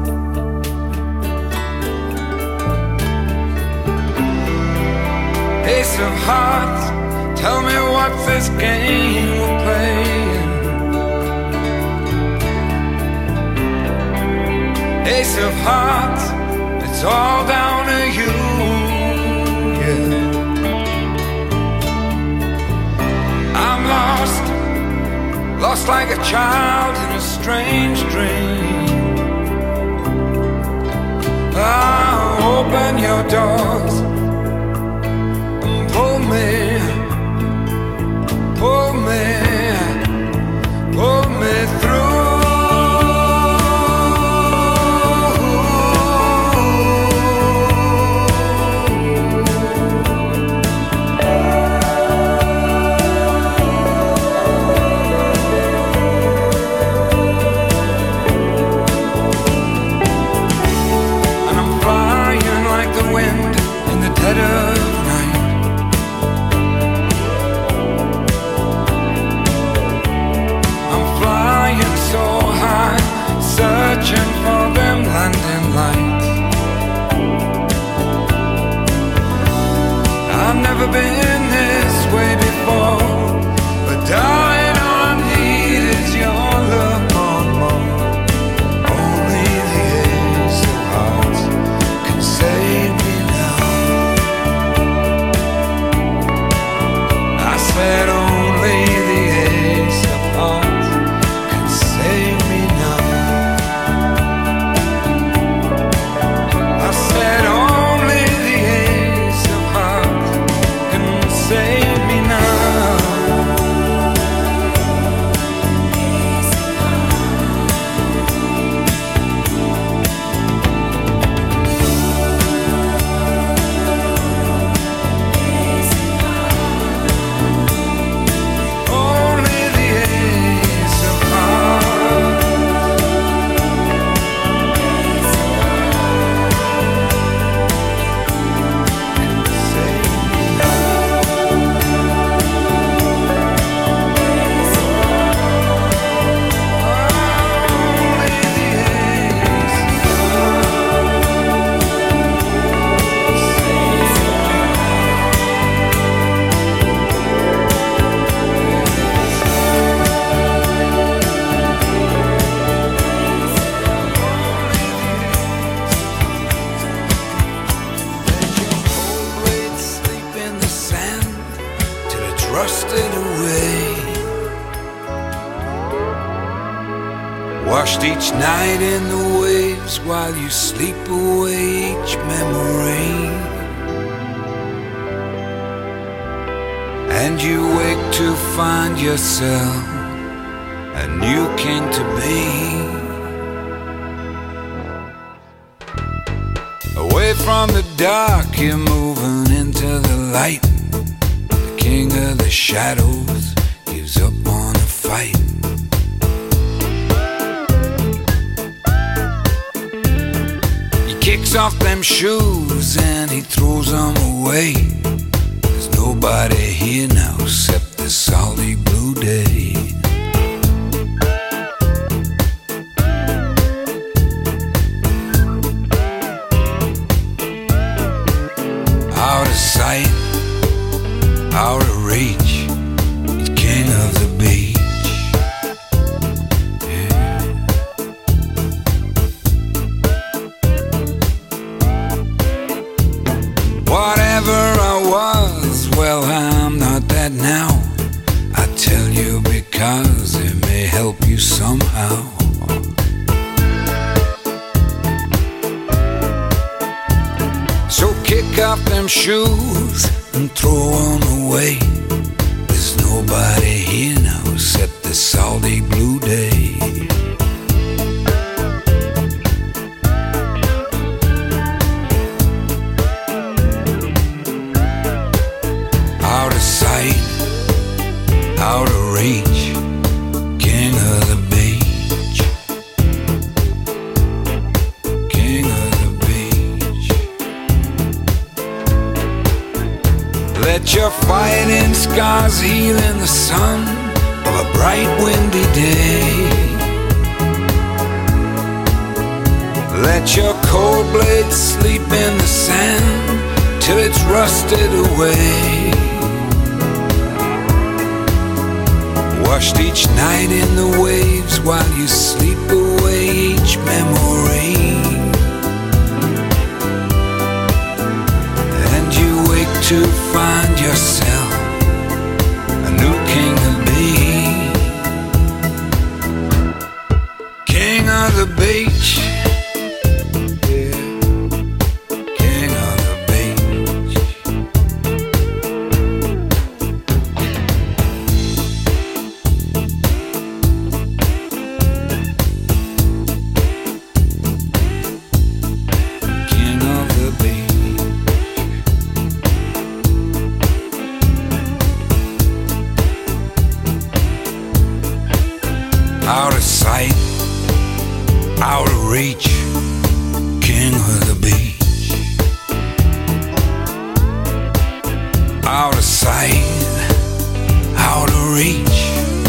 Ace of hearts, tell me what's this game we're playing? Ace of hearts, it's all down to you, yeah. I'm lost, lost like a child in a strange dream. Ah, open your doors and pull me, pull me, pull me through. And I'm flying like the wind in the dead of night. So high, searching for them landing lights. I've never been this way before, but darling, all I need is your love more and more. Only the ace of hearts can save me now. I said only the ace of hearts save me now. I said only the ace of hearts can save me now. Only the ace of hearts. Rusted away, washed each night in the waves while you sleep away each memory. And you wake to find yourself a new king to be. Away from the dark, you're moving into the light. King of the shadows gives up on a fight. He kicks off them shoes and he throws them away. There's nobody here now except the salty blue day. Out of sight, out of reach, he's king of the beach. Yeah. What whoever I was, well, I'm not that now. I tell you because it may help you somehow. So kick off them shoes and throw them away. There's nobody here now except the salty blue day. Out of sight, out of reach, king of the beach, king of the beach. Let your fighting scars heal in the sun of a bright windy day. Let your cold blade sleep in the sand till it's rusted away. Washed each night in the waves while you sleep away each memory. And you wake to find yourself a new king to be. King of the beach. Out of sight, out of reach, king of the beach. Out of sight, out of reach.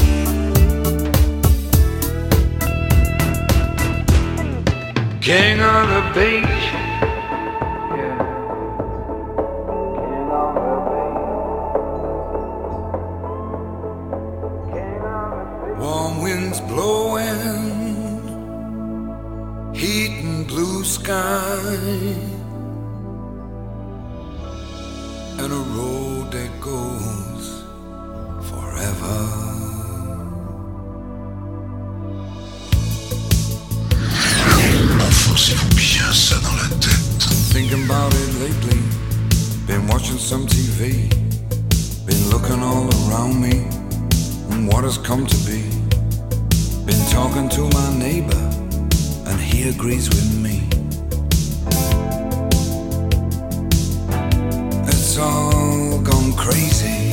King of the beach. Warm winds blowing, heat and blue sky, and a road that goes forever. Enfoncez-vous bien ça dans la tête. Thinking about it lately, been watching some T V, been looking all around me. What has come to be? Been talking to my neighbor, and he agrees with me. It's all gone crazy.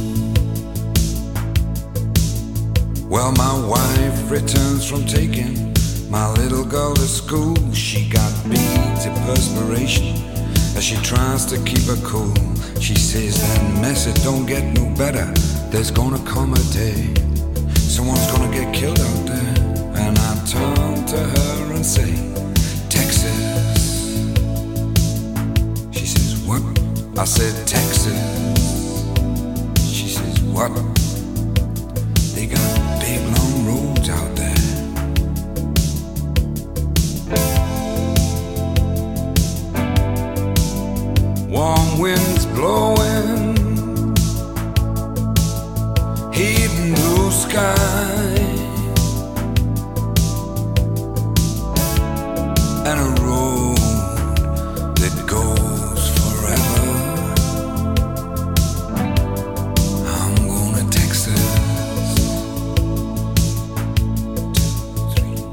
Well, my wife returns from taking my little girl to school. She got beads of perspiration as she tries to keep her cool. She says that mess, it don't get no better. There's gonna come a day someone's gonna get killed out there. And I turn to her and say, Texas. She says, what? I said, Texas. She says, what? They got big long roads out there. Warm winds blowing, heat and blue sky, and a road that goes forever. I'm going to Texas. Two, three.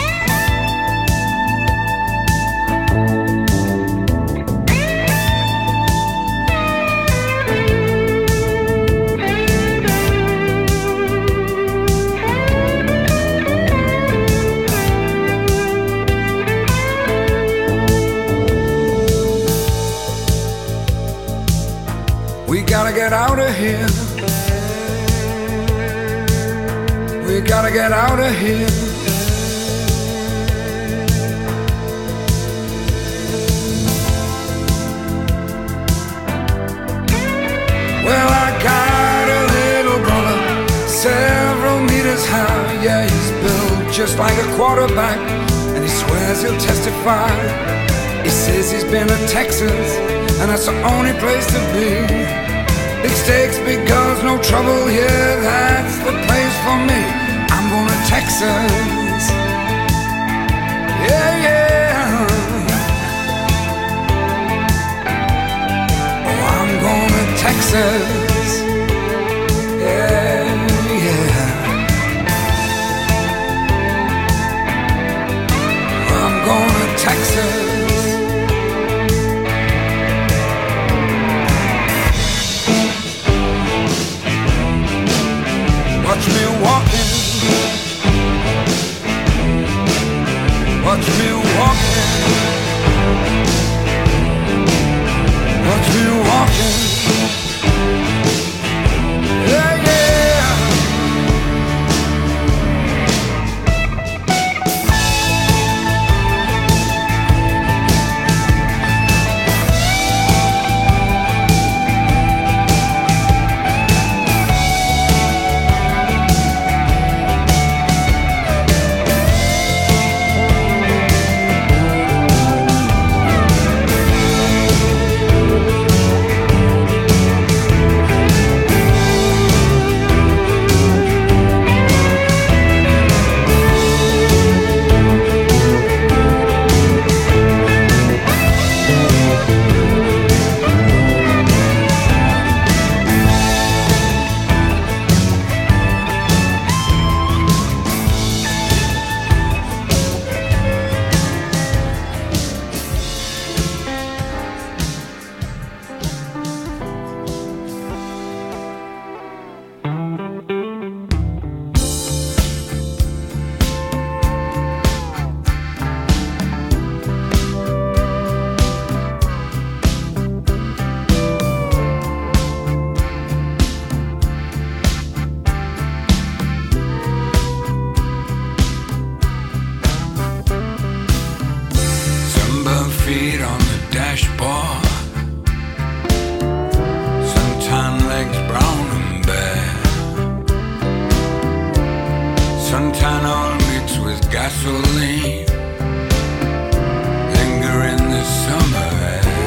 We gotta get out of here. We gotta get out of here. Well, I got a little brother, several meters high. Yeah, he's built just like a quarterback, and he swears he'll testify. He says he's been to Texas and that's the only place to be. Big stakes, big girls, no trouble here, that's the place for me. I'm going to Texas, yeah, yeah. Oh, I'm going to Texas, yeah, yeah. I'm going to Texas. Watch me walking, watch me walking, watch me walking, yeah, yeah. Feet on the dashboard, suntan legs brown and bare, suntan oil mixed with gasoline, linger in the summer air.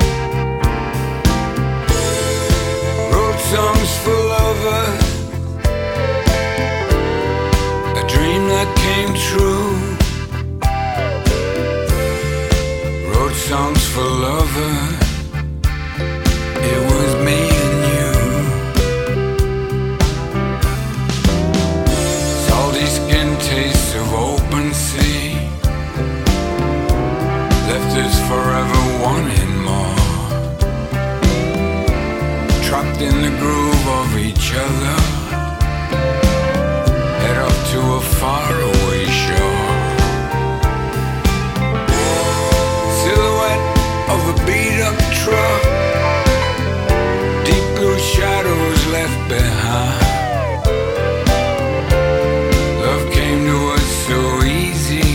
Wrote songs for lovers, a dream that came true. Songs for lovers, it was me and you. Salty skin tastes of open sea, left us forever wanting more. Trapped in the groove of each other, head up to a faraway shore. Of a beat-up truck, deep blue shadows left behind. Love came to us so easy,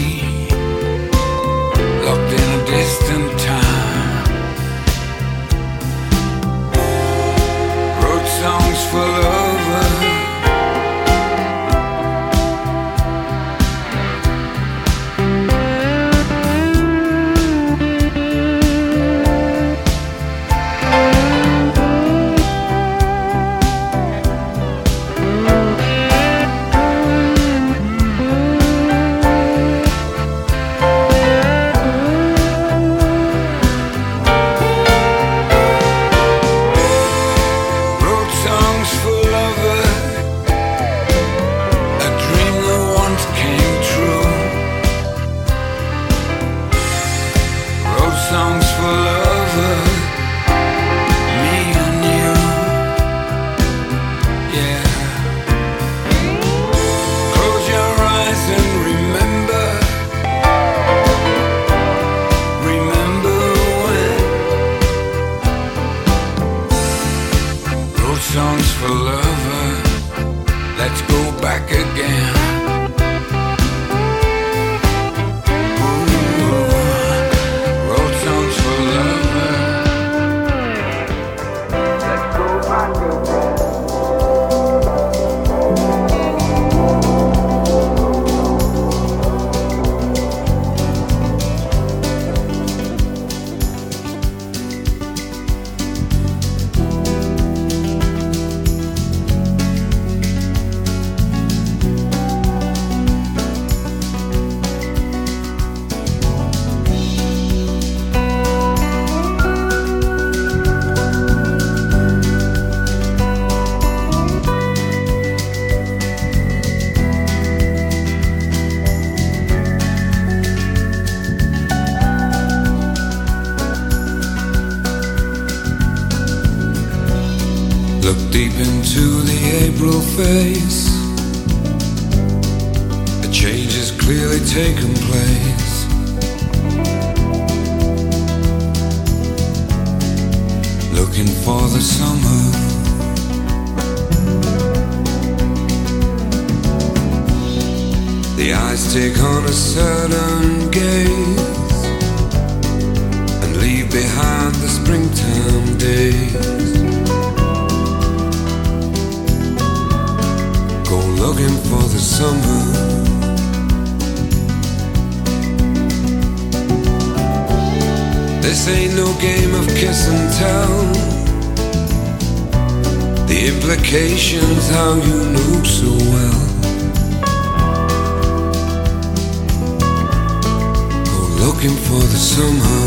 locked in a distant time. Wrote songs for lovers, songs for lovers, let's go back again. Ooh, wrote songs for lovers, let's go back again. Look deep into the April face. A change has clearly taken place. Looking for the summer. The eyes take on a certain gaze and leave behind the springtime days. Go looking for the summer. This ain't no game of kiss and tell. The implications how you know so well. Go looking for the summer.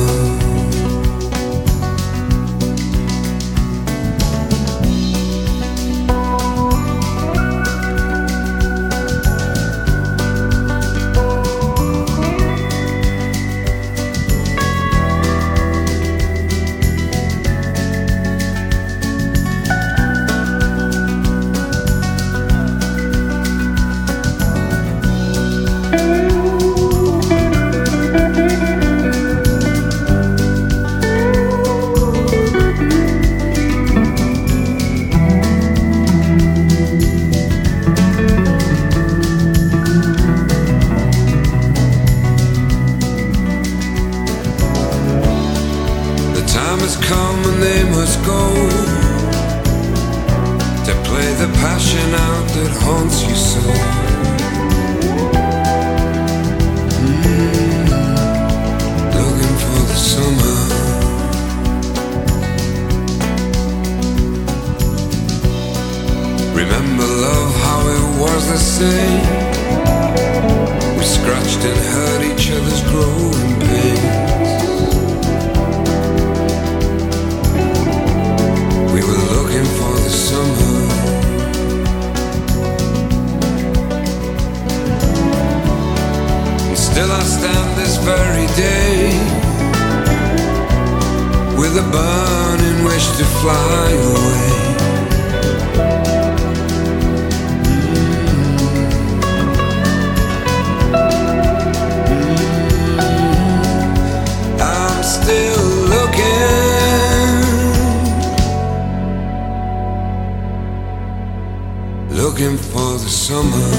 Looking for the summer.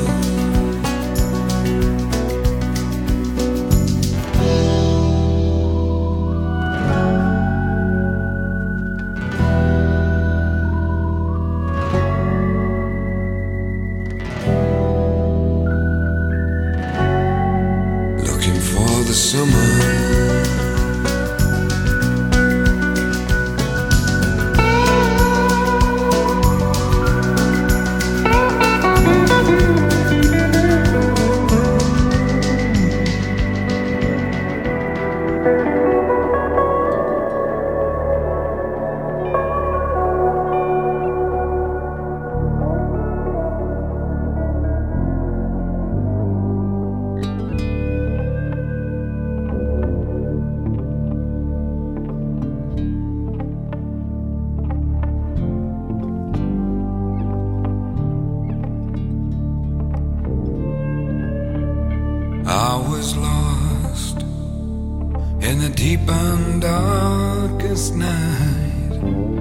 Looking for the summer. I was lost in the deep and darkest night.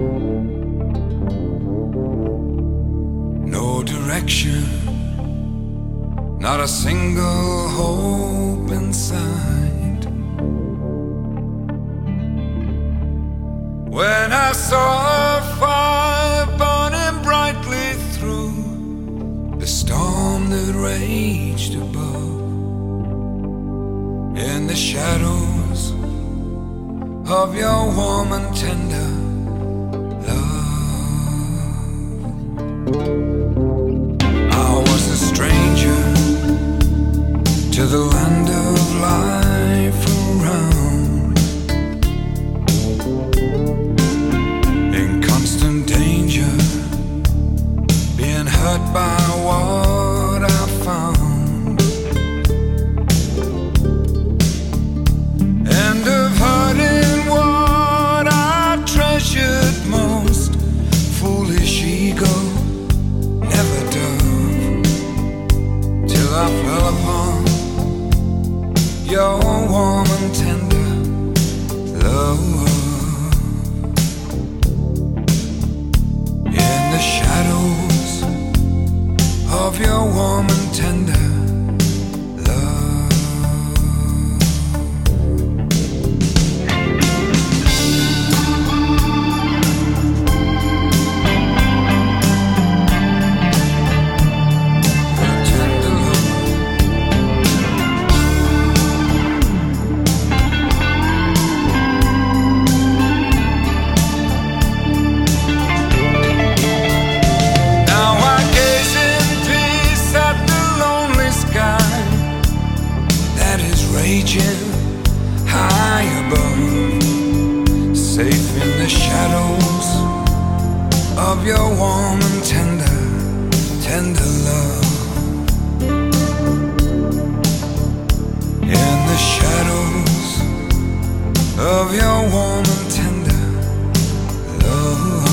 No direction, not a single hope in sight. When I saw a fire burning brightly through the storm that raged above, in the shadows of your warm and tender love, I was a stranger to the land of life around, in constant danger, being hurt by what I found. Most foolish safe in the shadows of your warm and tender, tender love. In the shadows of your warm and tender love.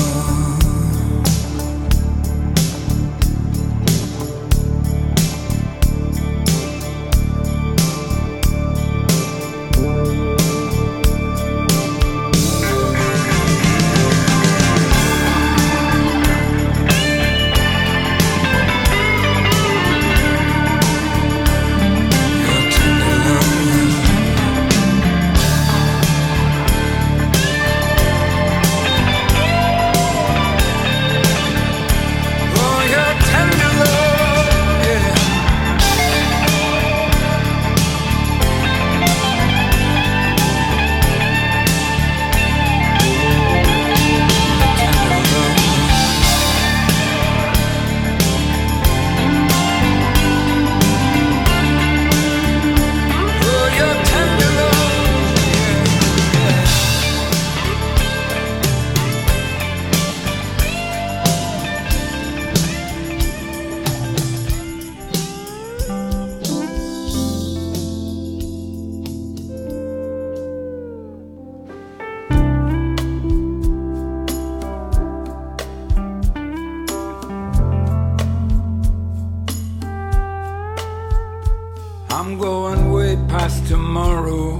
I'm going way past tomorrow,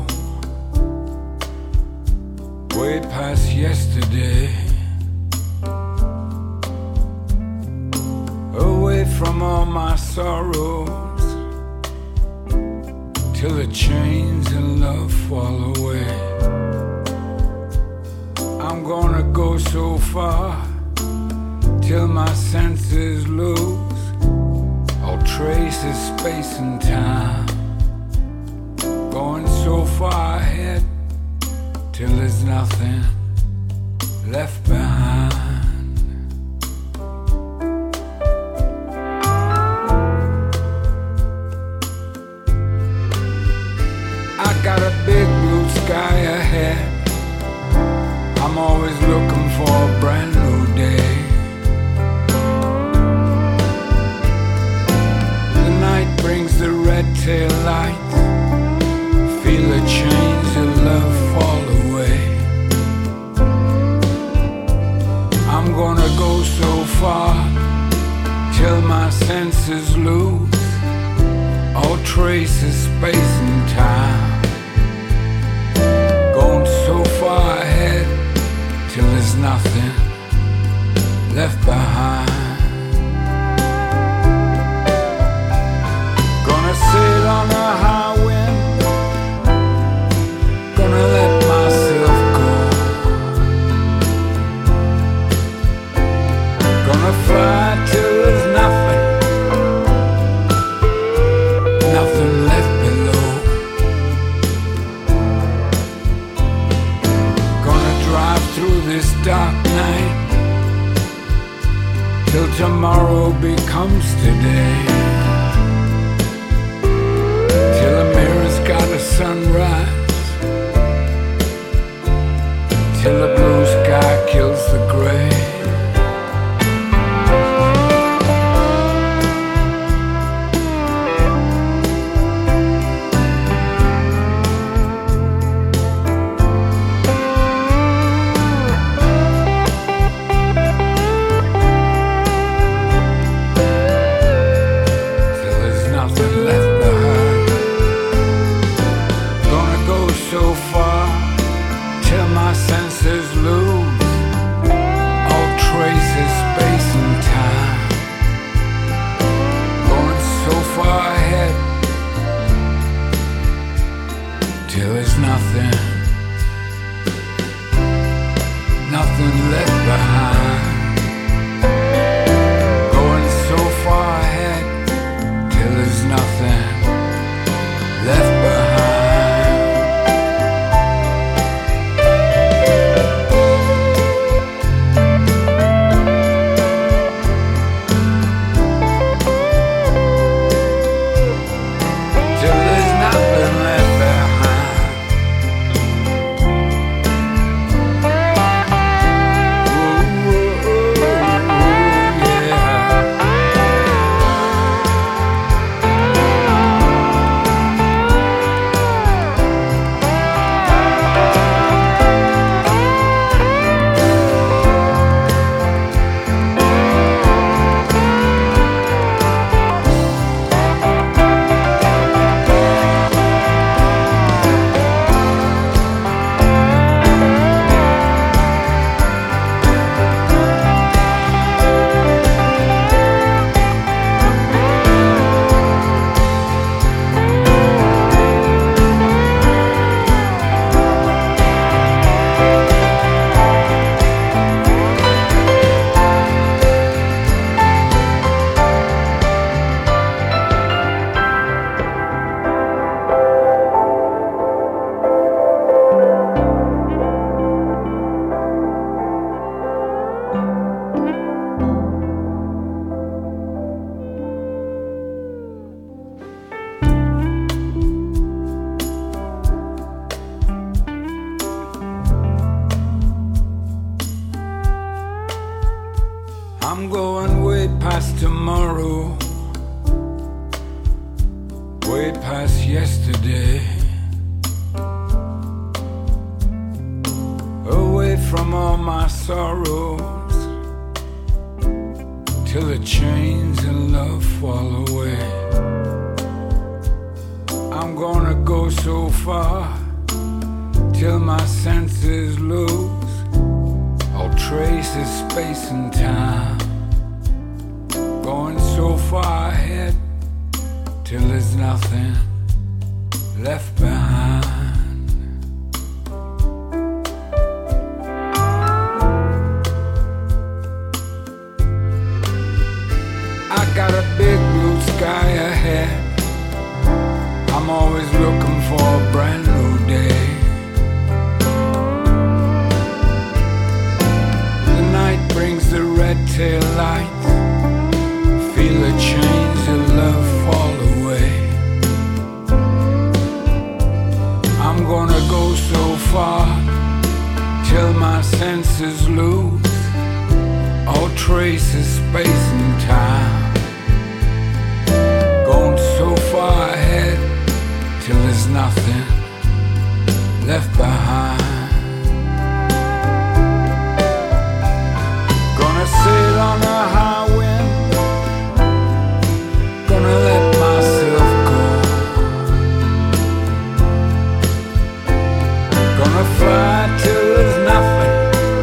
way past yesterday, away from all my sorrows, till the chains of love fall away. I'm gonna go so far, till my senses lose all trace of space and time. Going so far ahead, till there's nothing left behind. I got a big blue sky ahead, I'm always looking for a brand new day. The night brings the red tail lights, feel the chains of love fall away. I'm gonna go so far, till my senses lose all trace of space and time. Going so far ahead, till there's nothing left behind. Gonna sail on a high wind, gonna let myself go, gonna fly till there's nothing, nothing left below. Gonna drive through this dark night, till tomorrow becomes today, till the mirror's got a sunrise, till the blue sky kills the gray. Till there's nothing left behind. Gonna go so far, till my senses lose tomorrow, way past yesterday, away from all my sorrows, till the chains in love fall away. I'm gonna go so far till my senses lose all trace of space and time. Going so far ahead till there's nothing left behind. I got a big blue sky ahead. I'm always looking for a brand new day. The night brings the red tail lights. Feel the chains of love fall away. I'm gonna go so far till my senses lose all trace of space and time. Going so far ahead till there's nothing left behind. Gonna sail on a high wind, gonna let myself go, gonna fly till there's nothing,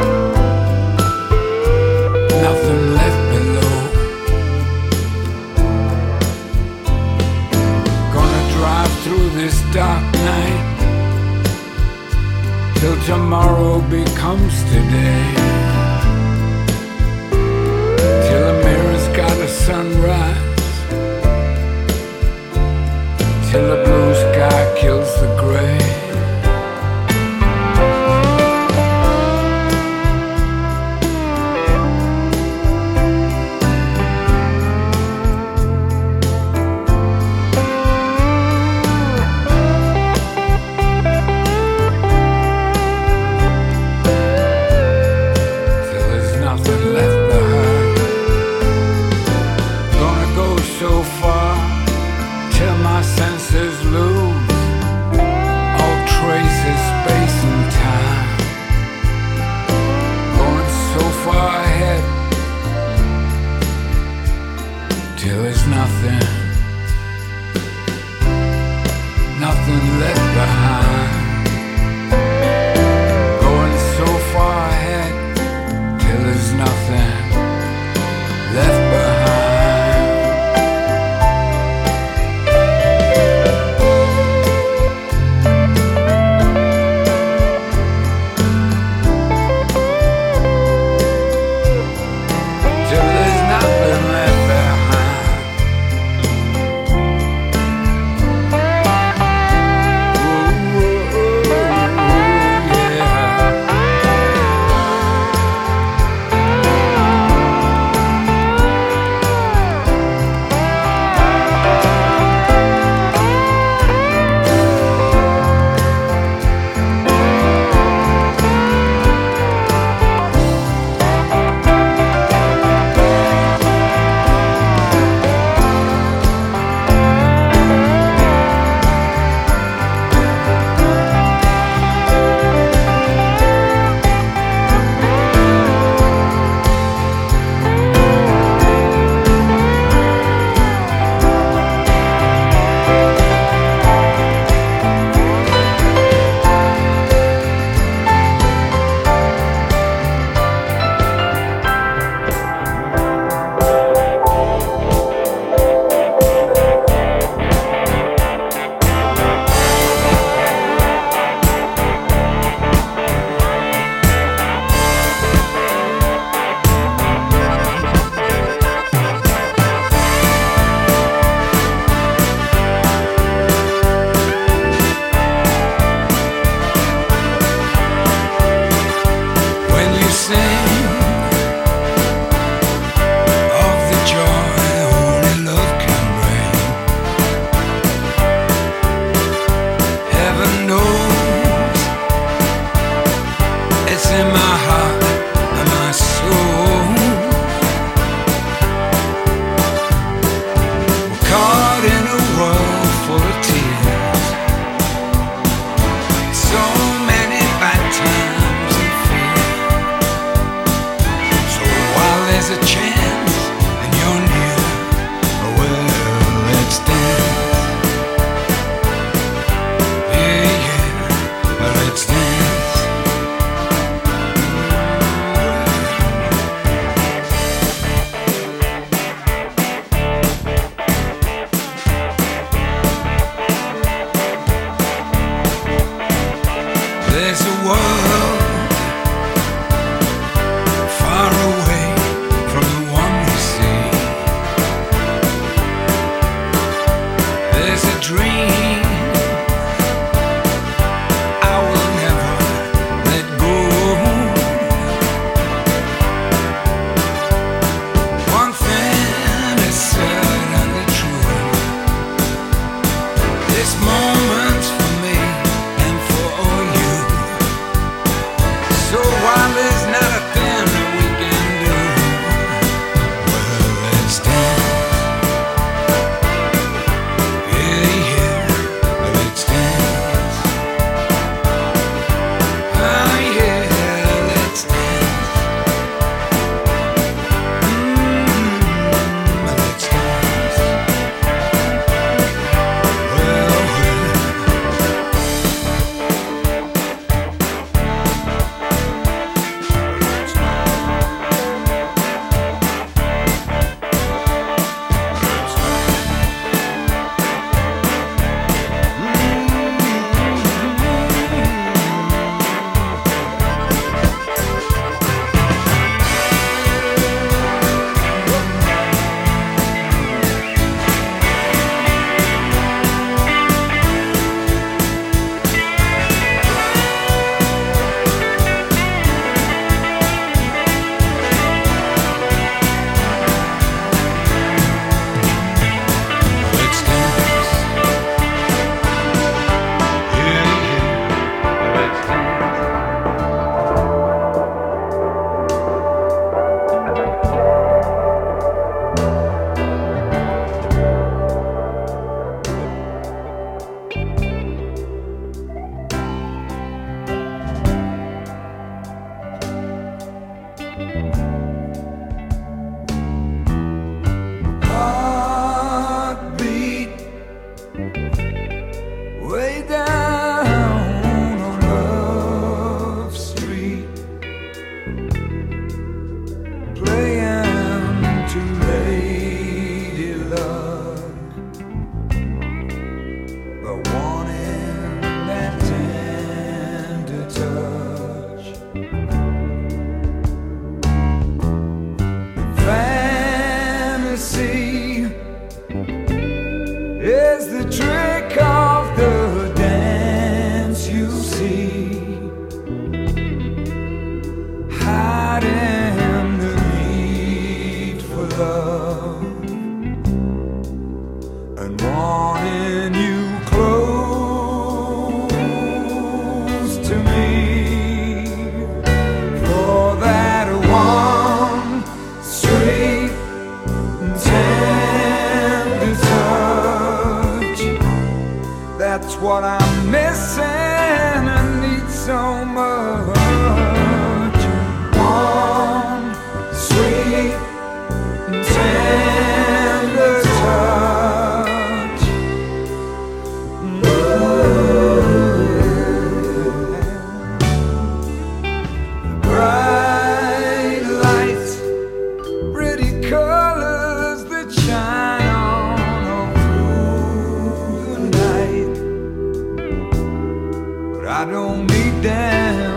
nothing left below. Gonna drive through this dark night till tomorrow becomes today, till the mirror's got a sunrise, till the blue sky kills the gray. while there's not a thing that we can do, well, let's dance. Yeah, yeah, let's dance. Oh, yeah, let's dance. Mm-hmm. Let's dance. Well, let's dance. Yeah, yeah, let's dance. Heartbeat way down on Love Street, playing to Lady Luck, but wanting that tender touch. Fantasy is the trick of the dance, you see, hiding the need for love and wanting you close to me for that one sweet tender touch. That's what I'm missing and need so much. One sweet tender touch. Bright lights, pretty colors that shine on all through the night, but I don't need them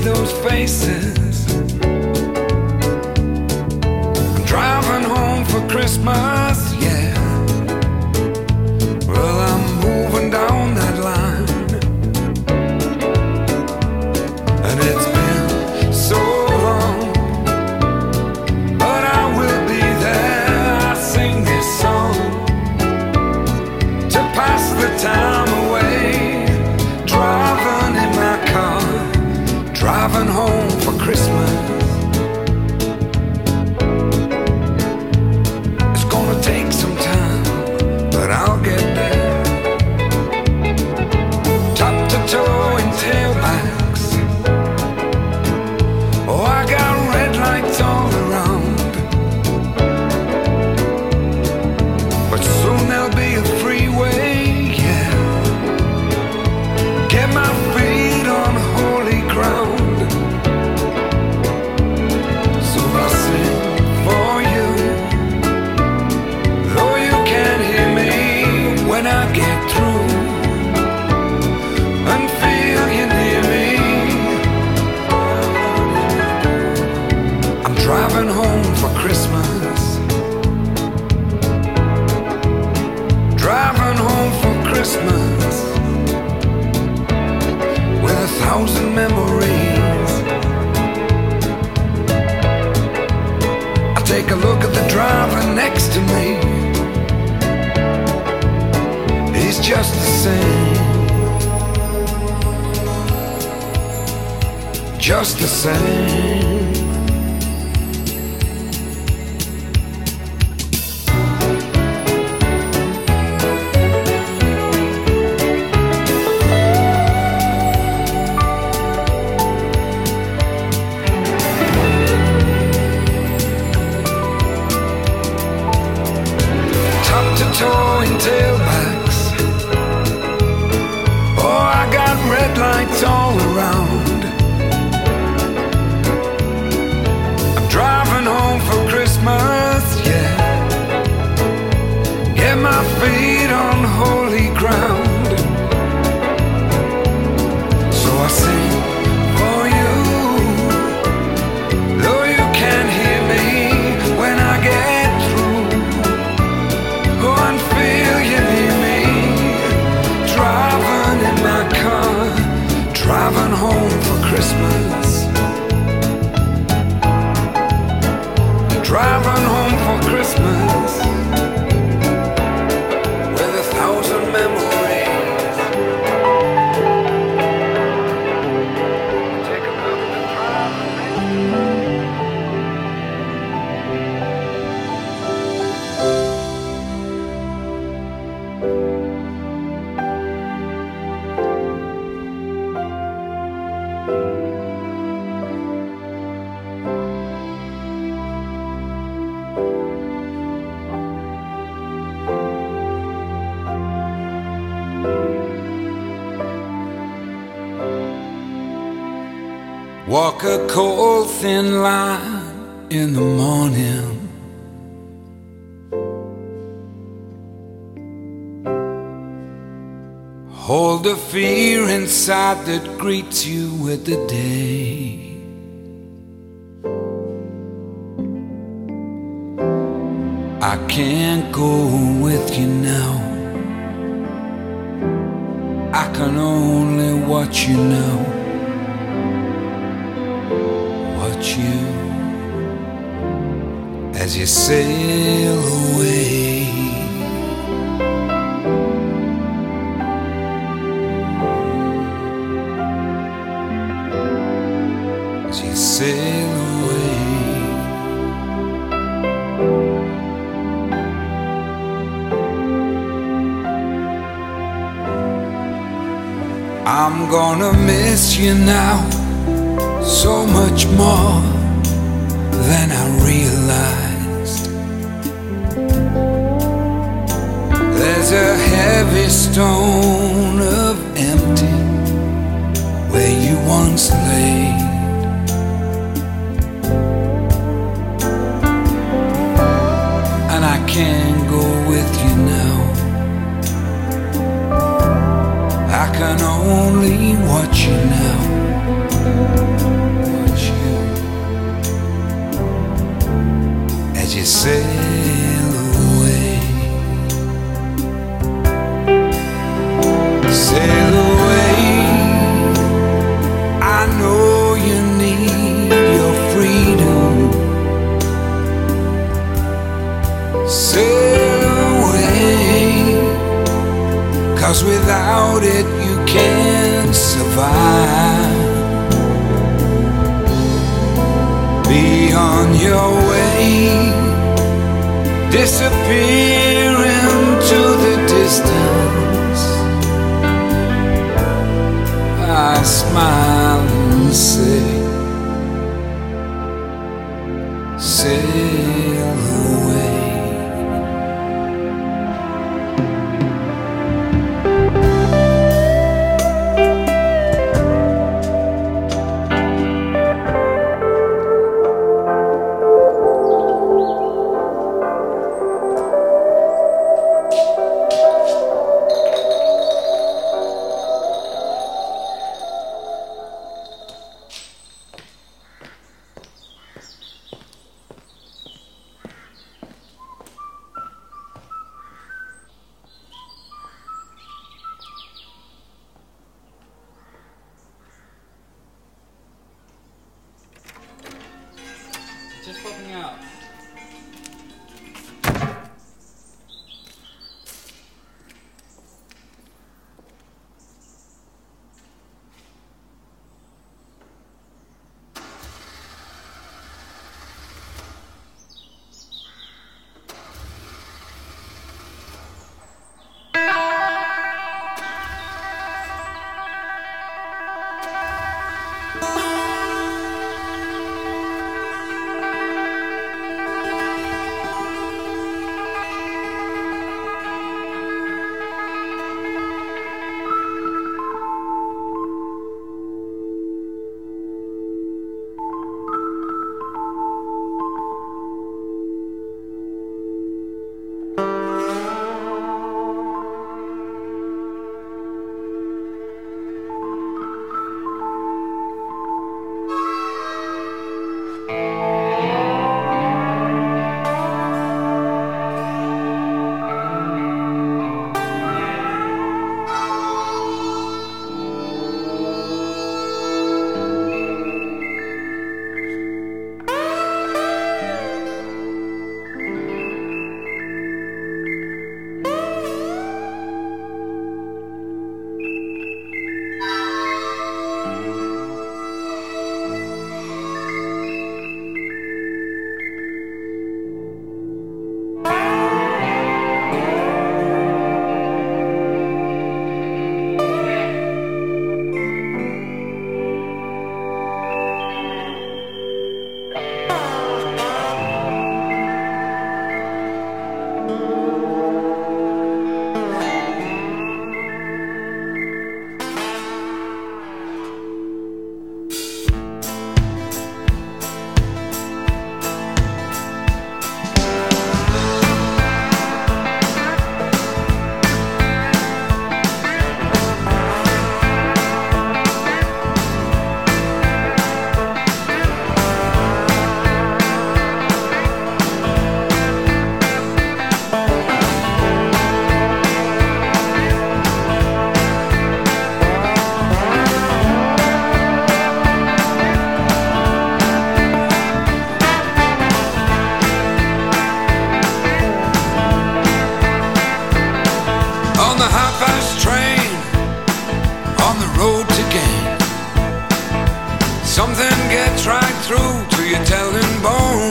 those faces. I'm driving home for Christmas, yeah. Well, I'm moving down that line, and it's been so long, but I will be there. I sing this song to pass the time away, driving in my car, driving home for Christmas. It's gonna take some time, but I'll get there. Top to toe in tailbacks. Oh, I got red lights all around, but soon there'll be a freeway, yeah. Get my feet on holy ground. So I sing for you, though you can't hear me when I get through, and feel you near me. I'm driving home for Christmas, driving home for Christmas, with a thousand memories. I take a look at the driver next to me. He's just the same, just the same. Toe in tailbacks. Oh, I got red lights all around. I'm driving home for Christmas, yeah. Get my feet on holy ground. So I sing for you, though you can't hear me when I get through. Go and feel you near me, driving in my car, driving home for Christmas, driving home for Christmas, with a thousand memories. Take another drive. Walk a cold thin line in the morning, hold the fear inside that greets you with the day. I can't go with you now, I can only watch you now. Watch you as you sail away. As you sail away. I'm gonna miss you now, so much more than I realized. There's a heavy stone of empty where you once lay. And I can't go with you now, I can only watch you now. you sail away. Sail away. I know you need your freedom. Sail away, 'cause without it you can't survive. Be on your way, disappear into the distance. I smile and say, sail away. Just popping out. Something gets right through to your telling bone.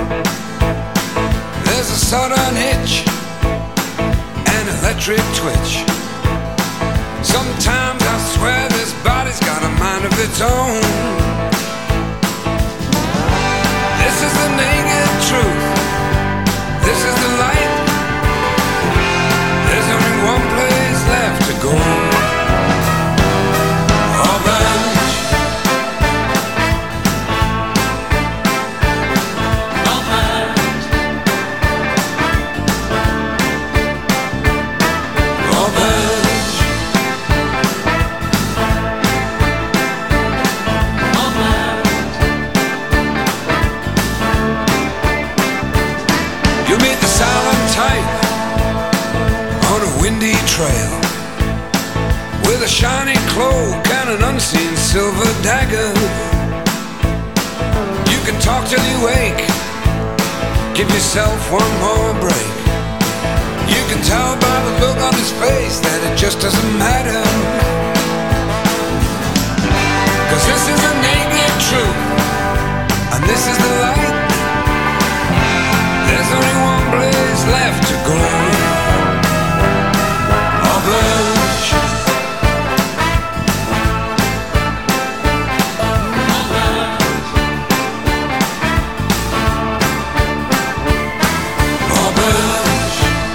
There's a sudden hitch, an electric twitch. Sometimes I swear this body's got a mind of its own. This is the naked truth. This is the light. There's only one place left to go. windy trail, with a shiny cloak and an unseen silver dagger. You can talk till you wake, give yourself one more break. You can tell by the look on his face that it just doesn't matter. Cause this is the naked truth, and this is the light. There's only one place left to go. Or blush. Or blush.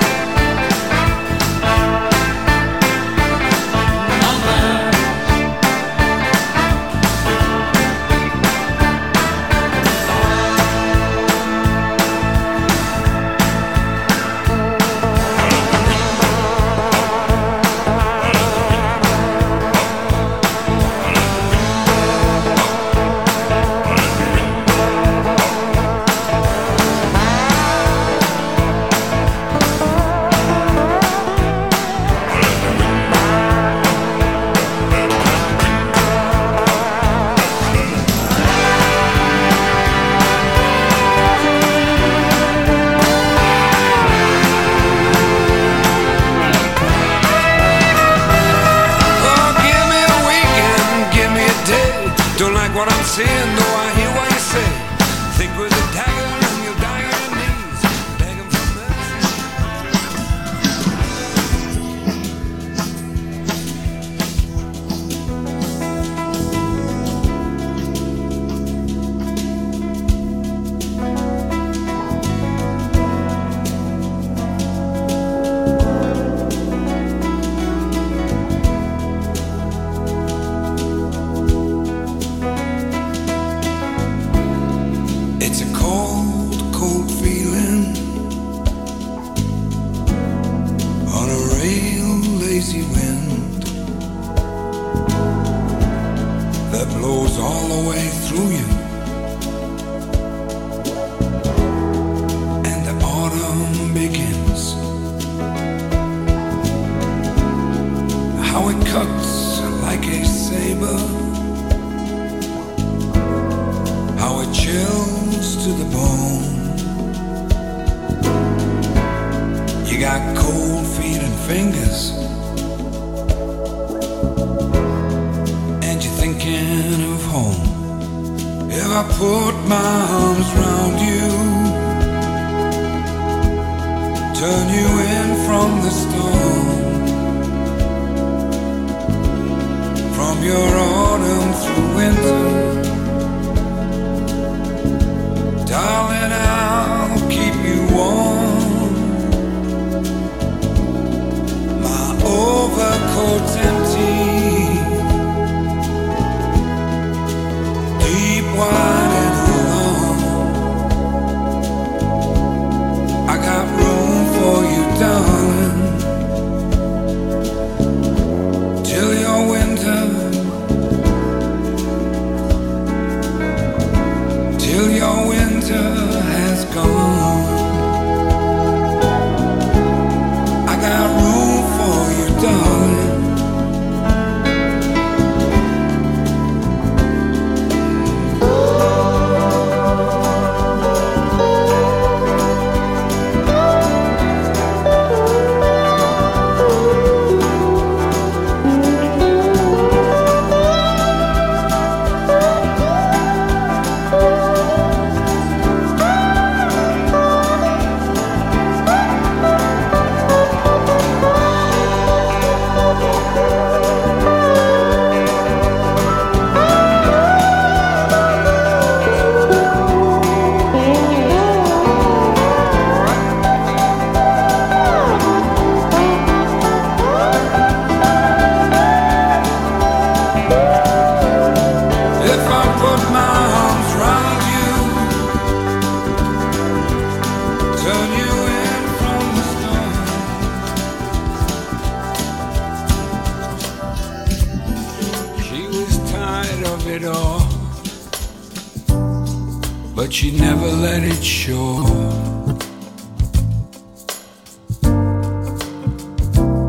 But she never let it show.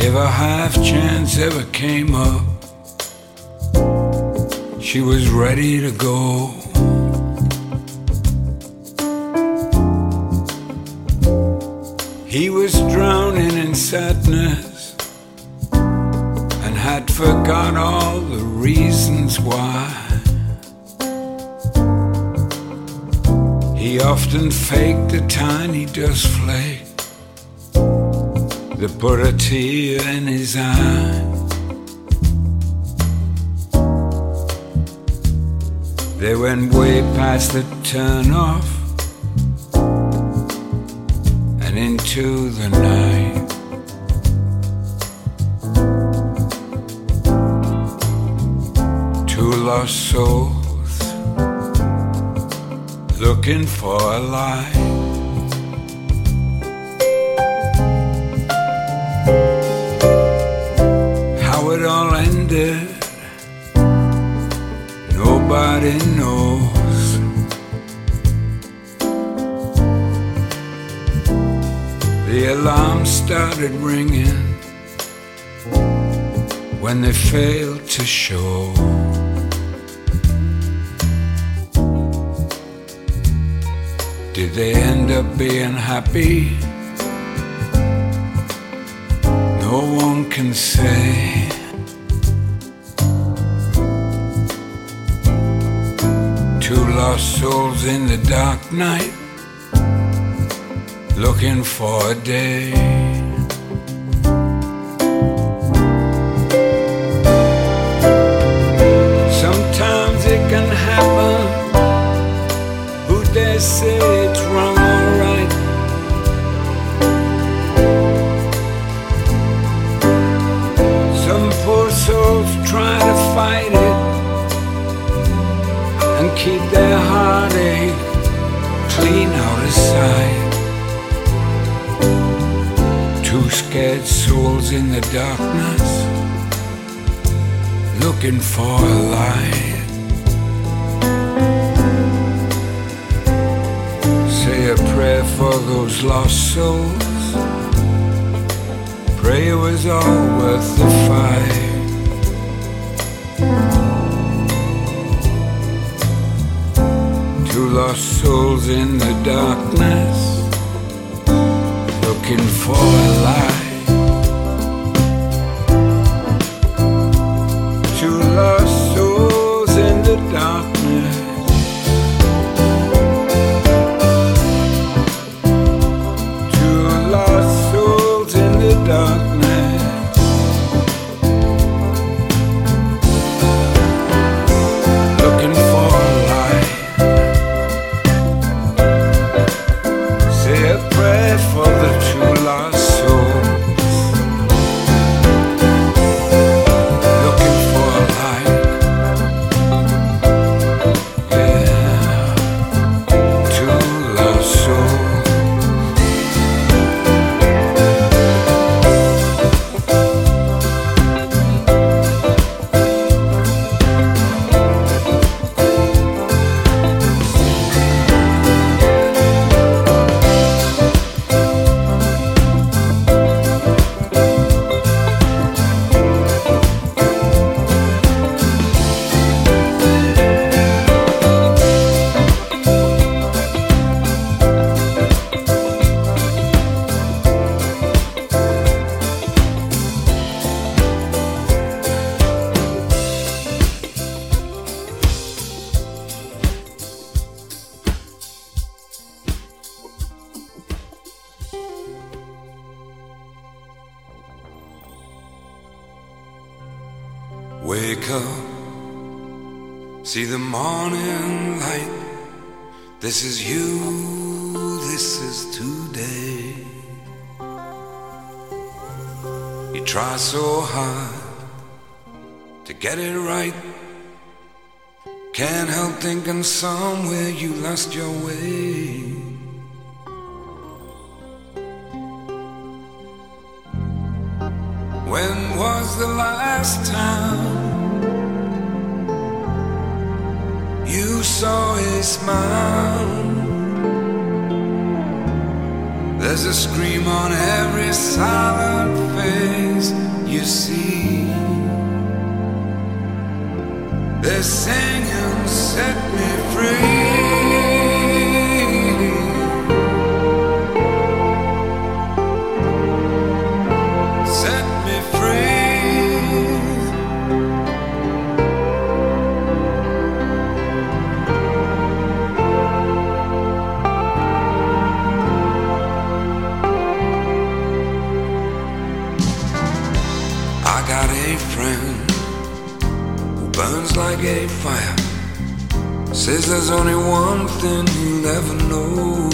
If a half chance ever came up, she was ready to go. He was drowning in sadness and had forgot all the reasons why. He often faked a tiny dust flake that put a tear in his eye. They went way past the turn-off and into the night. Two lost souls looking for a light. How it all ended, nobody knows. The alarm started ringing when they failed to show. Did they end up being happy? No one can say. Two lost souls in the dark night, looking for a day. Sometimes it can happen. Who dare say it's wrong or right? Some poor souls try to fight it and keep their heartache clean out of sight. Two scared souls in the darkness, looking for a light. Say a prayer for those lost souls. Pray it was all worth the fight. Two lost souls in the darkness, looking for a light. Two lost souls in the darkness, two lost souls in the darkness, looking for a light. Say a prayer for the two lost souls, looking for a light. Yeah, two lost souls. Wake up, see the morning light. This is you, this is today. You try so hard to get it right. Can't help thinking somewhere you lost your way. When was the last time you saw a smile? There's a scream on every silent face. got a friend who burns like a fire. Says there's only one thing he'll ever know.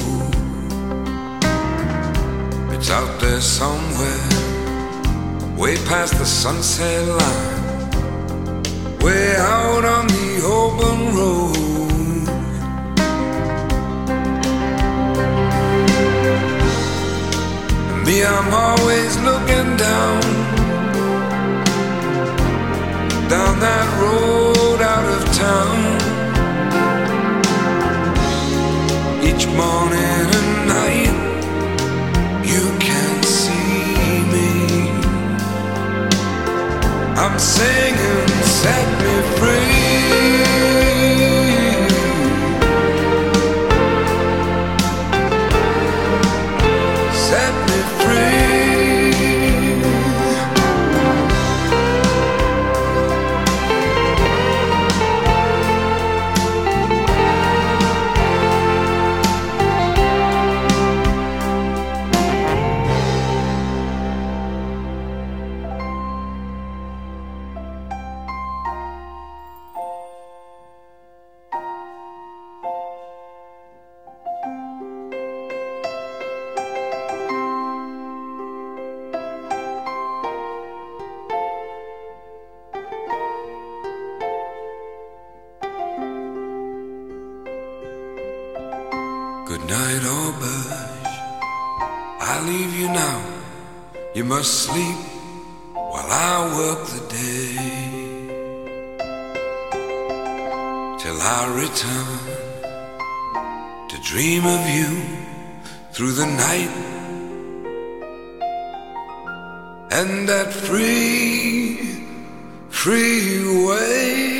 It's out there somewhere, way past the sunset line, way out on the open road. And me, I'm always looking down, down that road out of town. Each morning and night you can see me. I'm singing, set me free. Set me free. Good night, Auberge, I leave you now. You must sleep while I work the day, till I return to dream of you through the night. And that free, free way.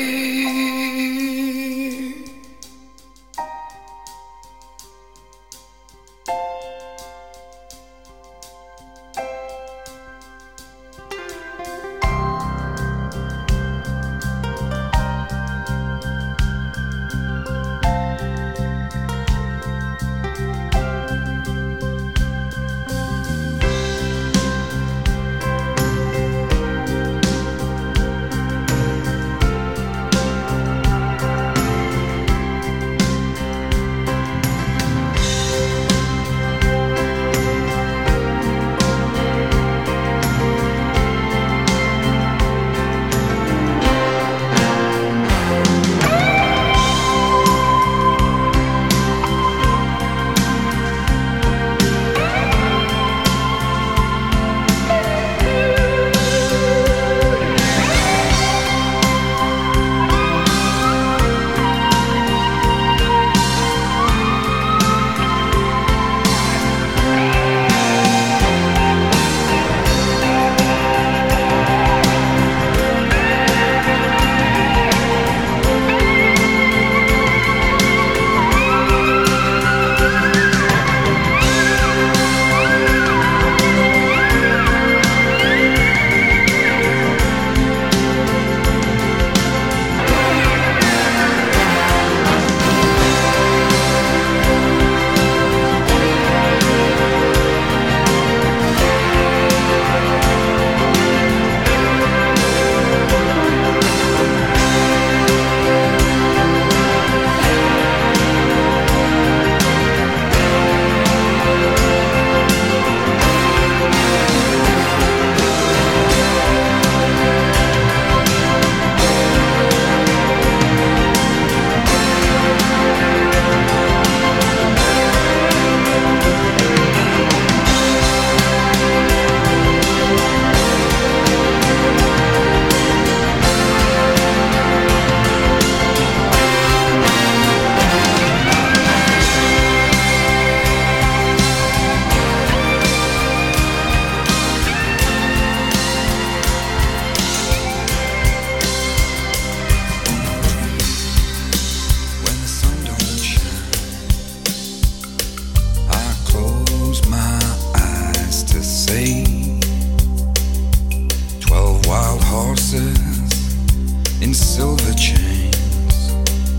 In silver chains,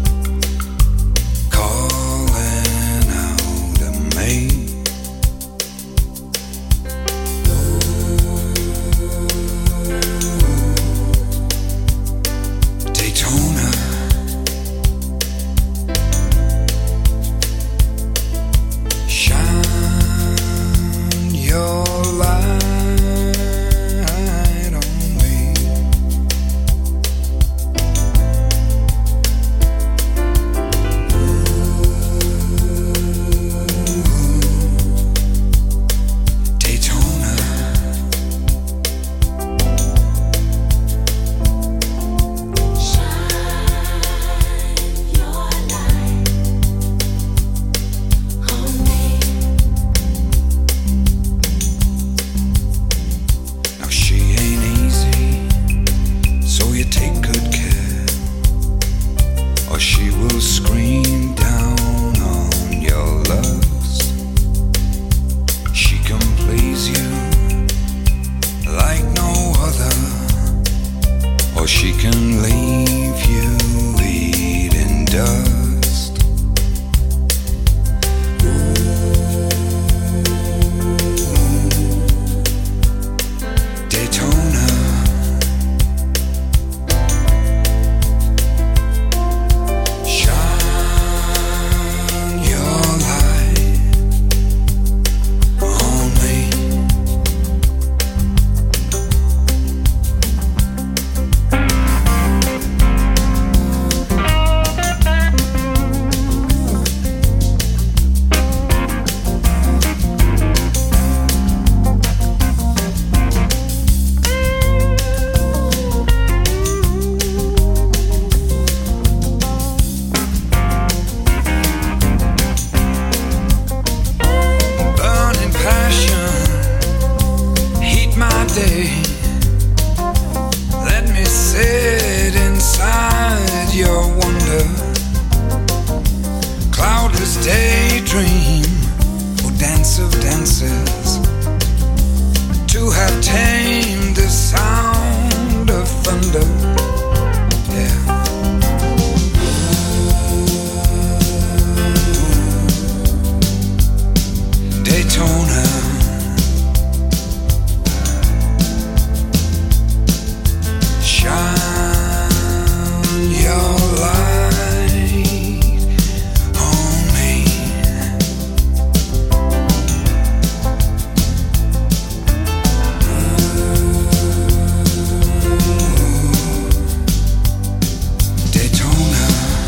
calling out a maid. senses to have tamed the sound of thunder. Yeah. Daytona, shine your light on me. Daytona,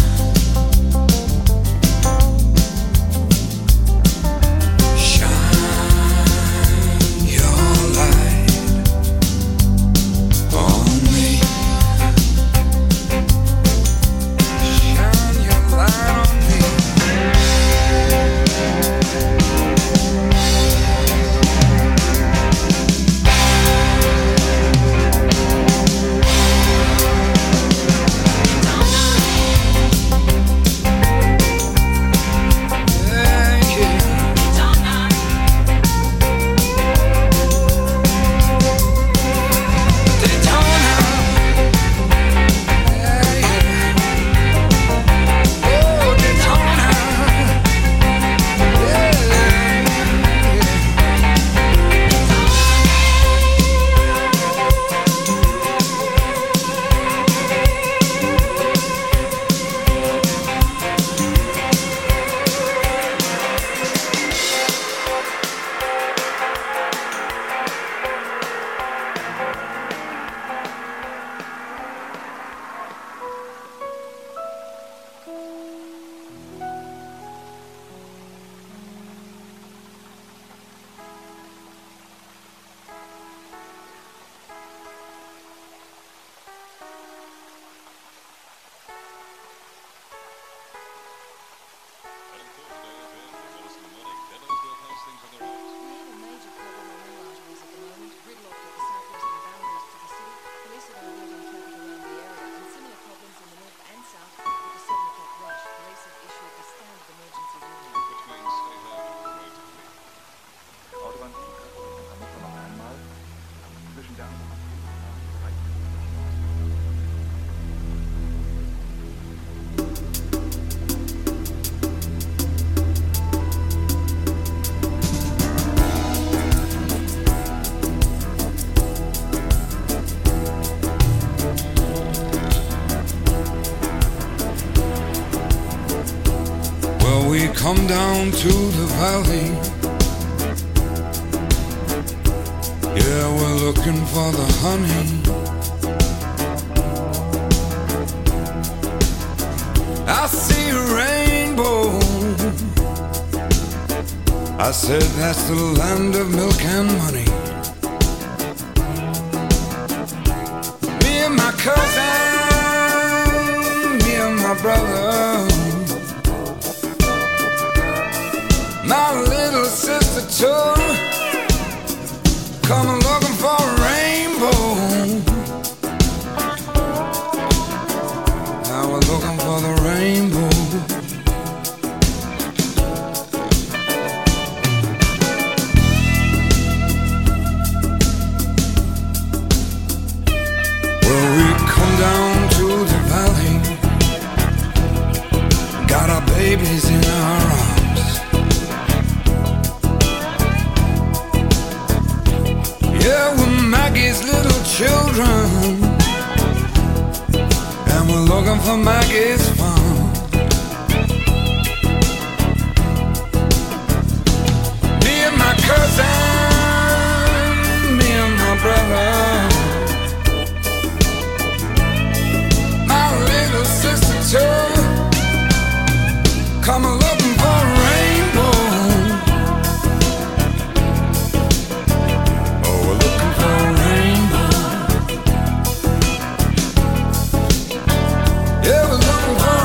come down to the valley. Yeah, we're looking for the honey. I see a rainbow. I said that's the land of milk and money. Me and my cousin, me and my brother, my little sister too, coming looking for a rainbow. Now we're looking for the rainbow. Well, we come down to the valley, got our babies in our arms. Yeah, we're Maggie's little children, and we're looking for Maggie's farm. Me and my cousin, me and my brother, my little sister too, come looking for a rainbow. Yeah, we're looking for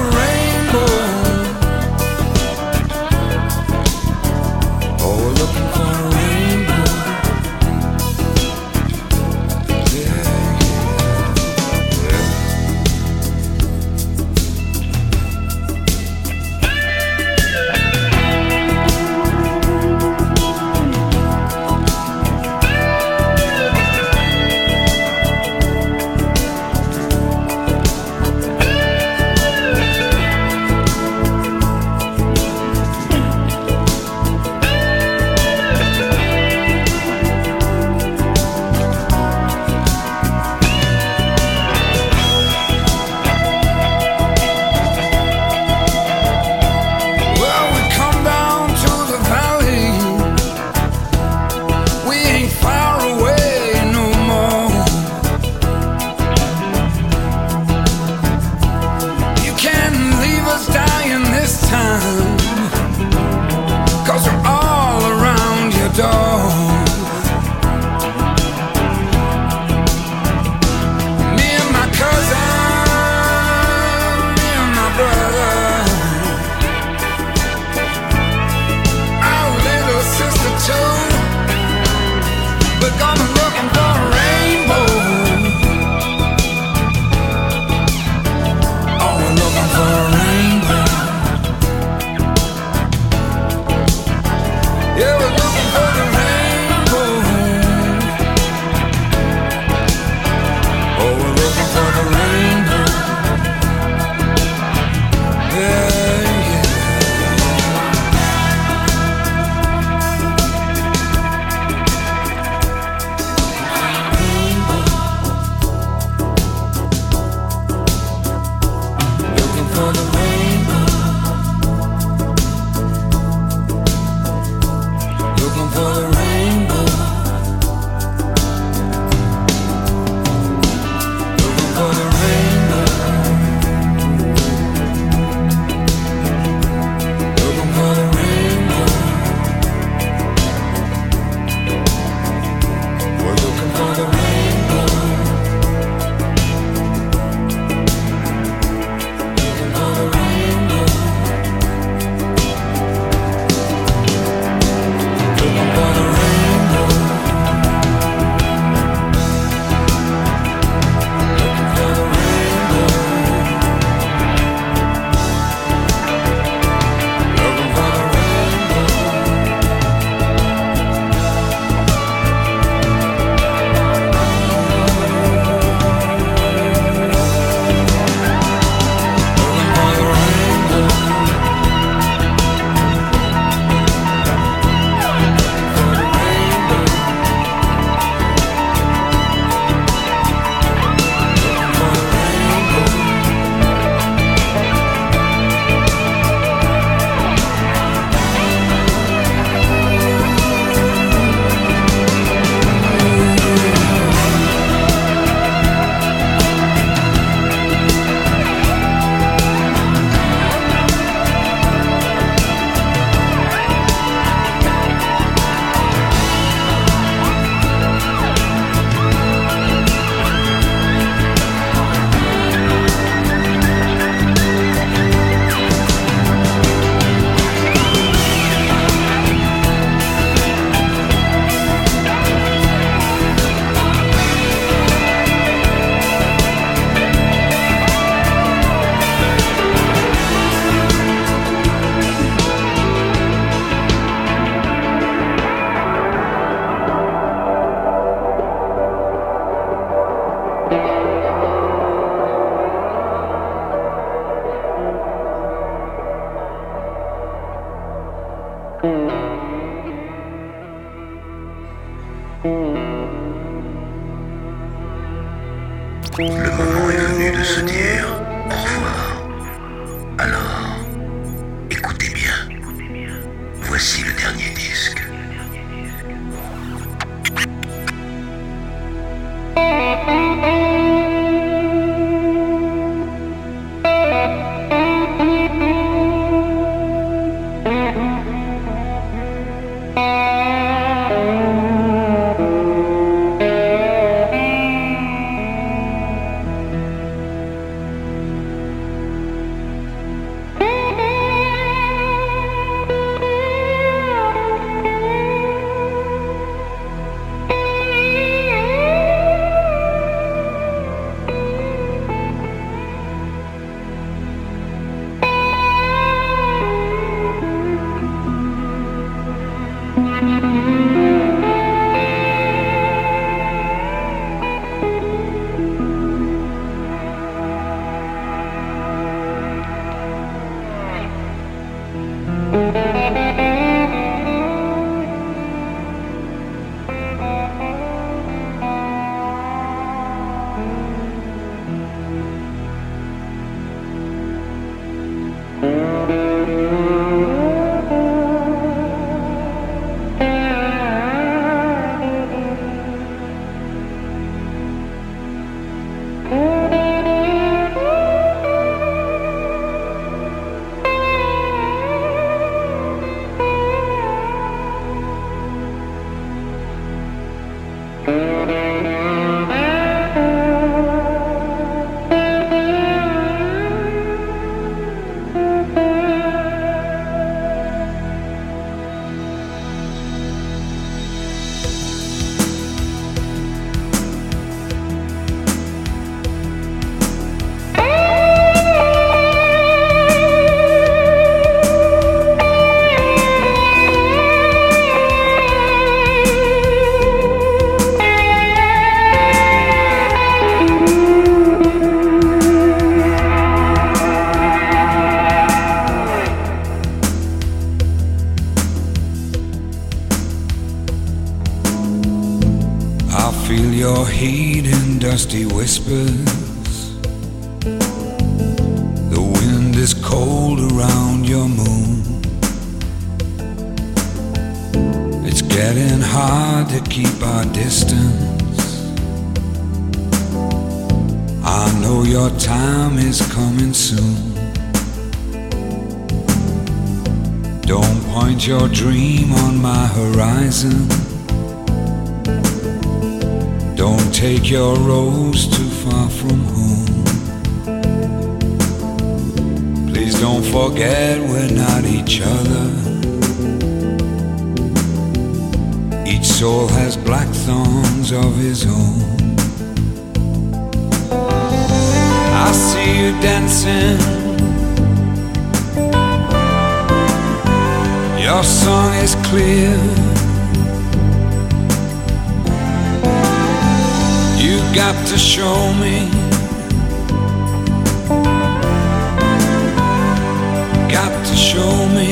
Le moment est venu de se dire au revoir. Alors, écoutez bien. Voici le dernier disque. Dusty whispers. The wind is cold around your moon. It's getting hard to keep our distance. I know your time is coming soon. Don't point your dream on my horizon. Don't take your rose too far from home. Please don't forget we're not each other. Each soul has black thorns of his own. I see you dancing. Your song is clear. You got to show me. Got to show me.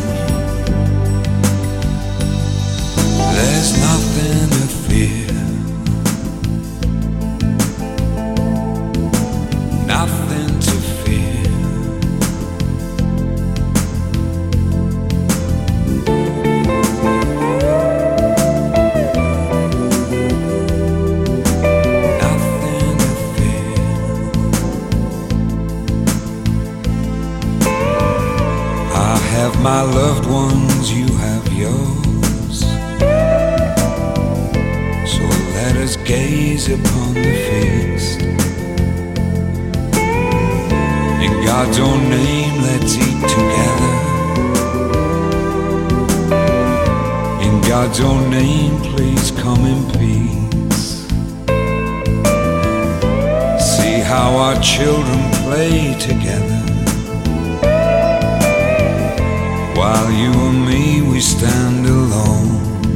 There's nothing to fear. Nothing to fear. My loved ones, you have yours. So let us gaze upon the feast. In God's own name, let's eat together. In God's own name, please come in peace. See how our children play together. While you and me, we stand alone.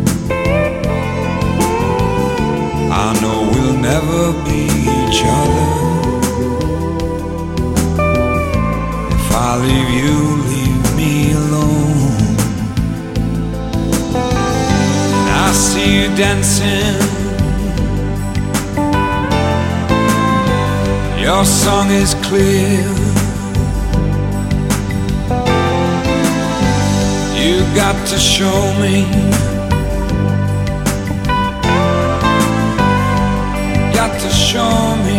I know we'll never be each other. If I leave you, leave me alone. And I see you dancing. Your song is clear. You got to show me. Got to show me.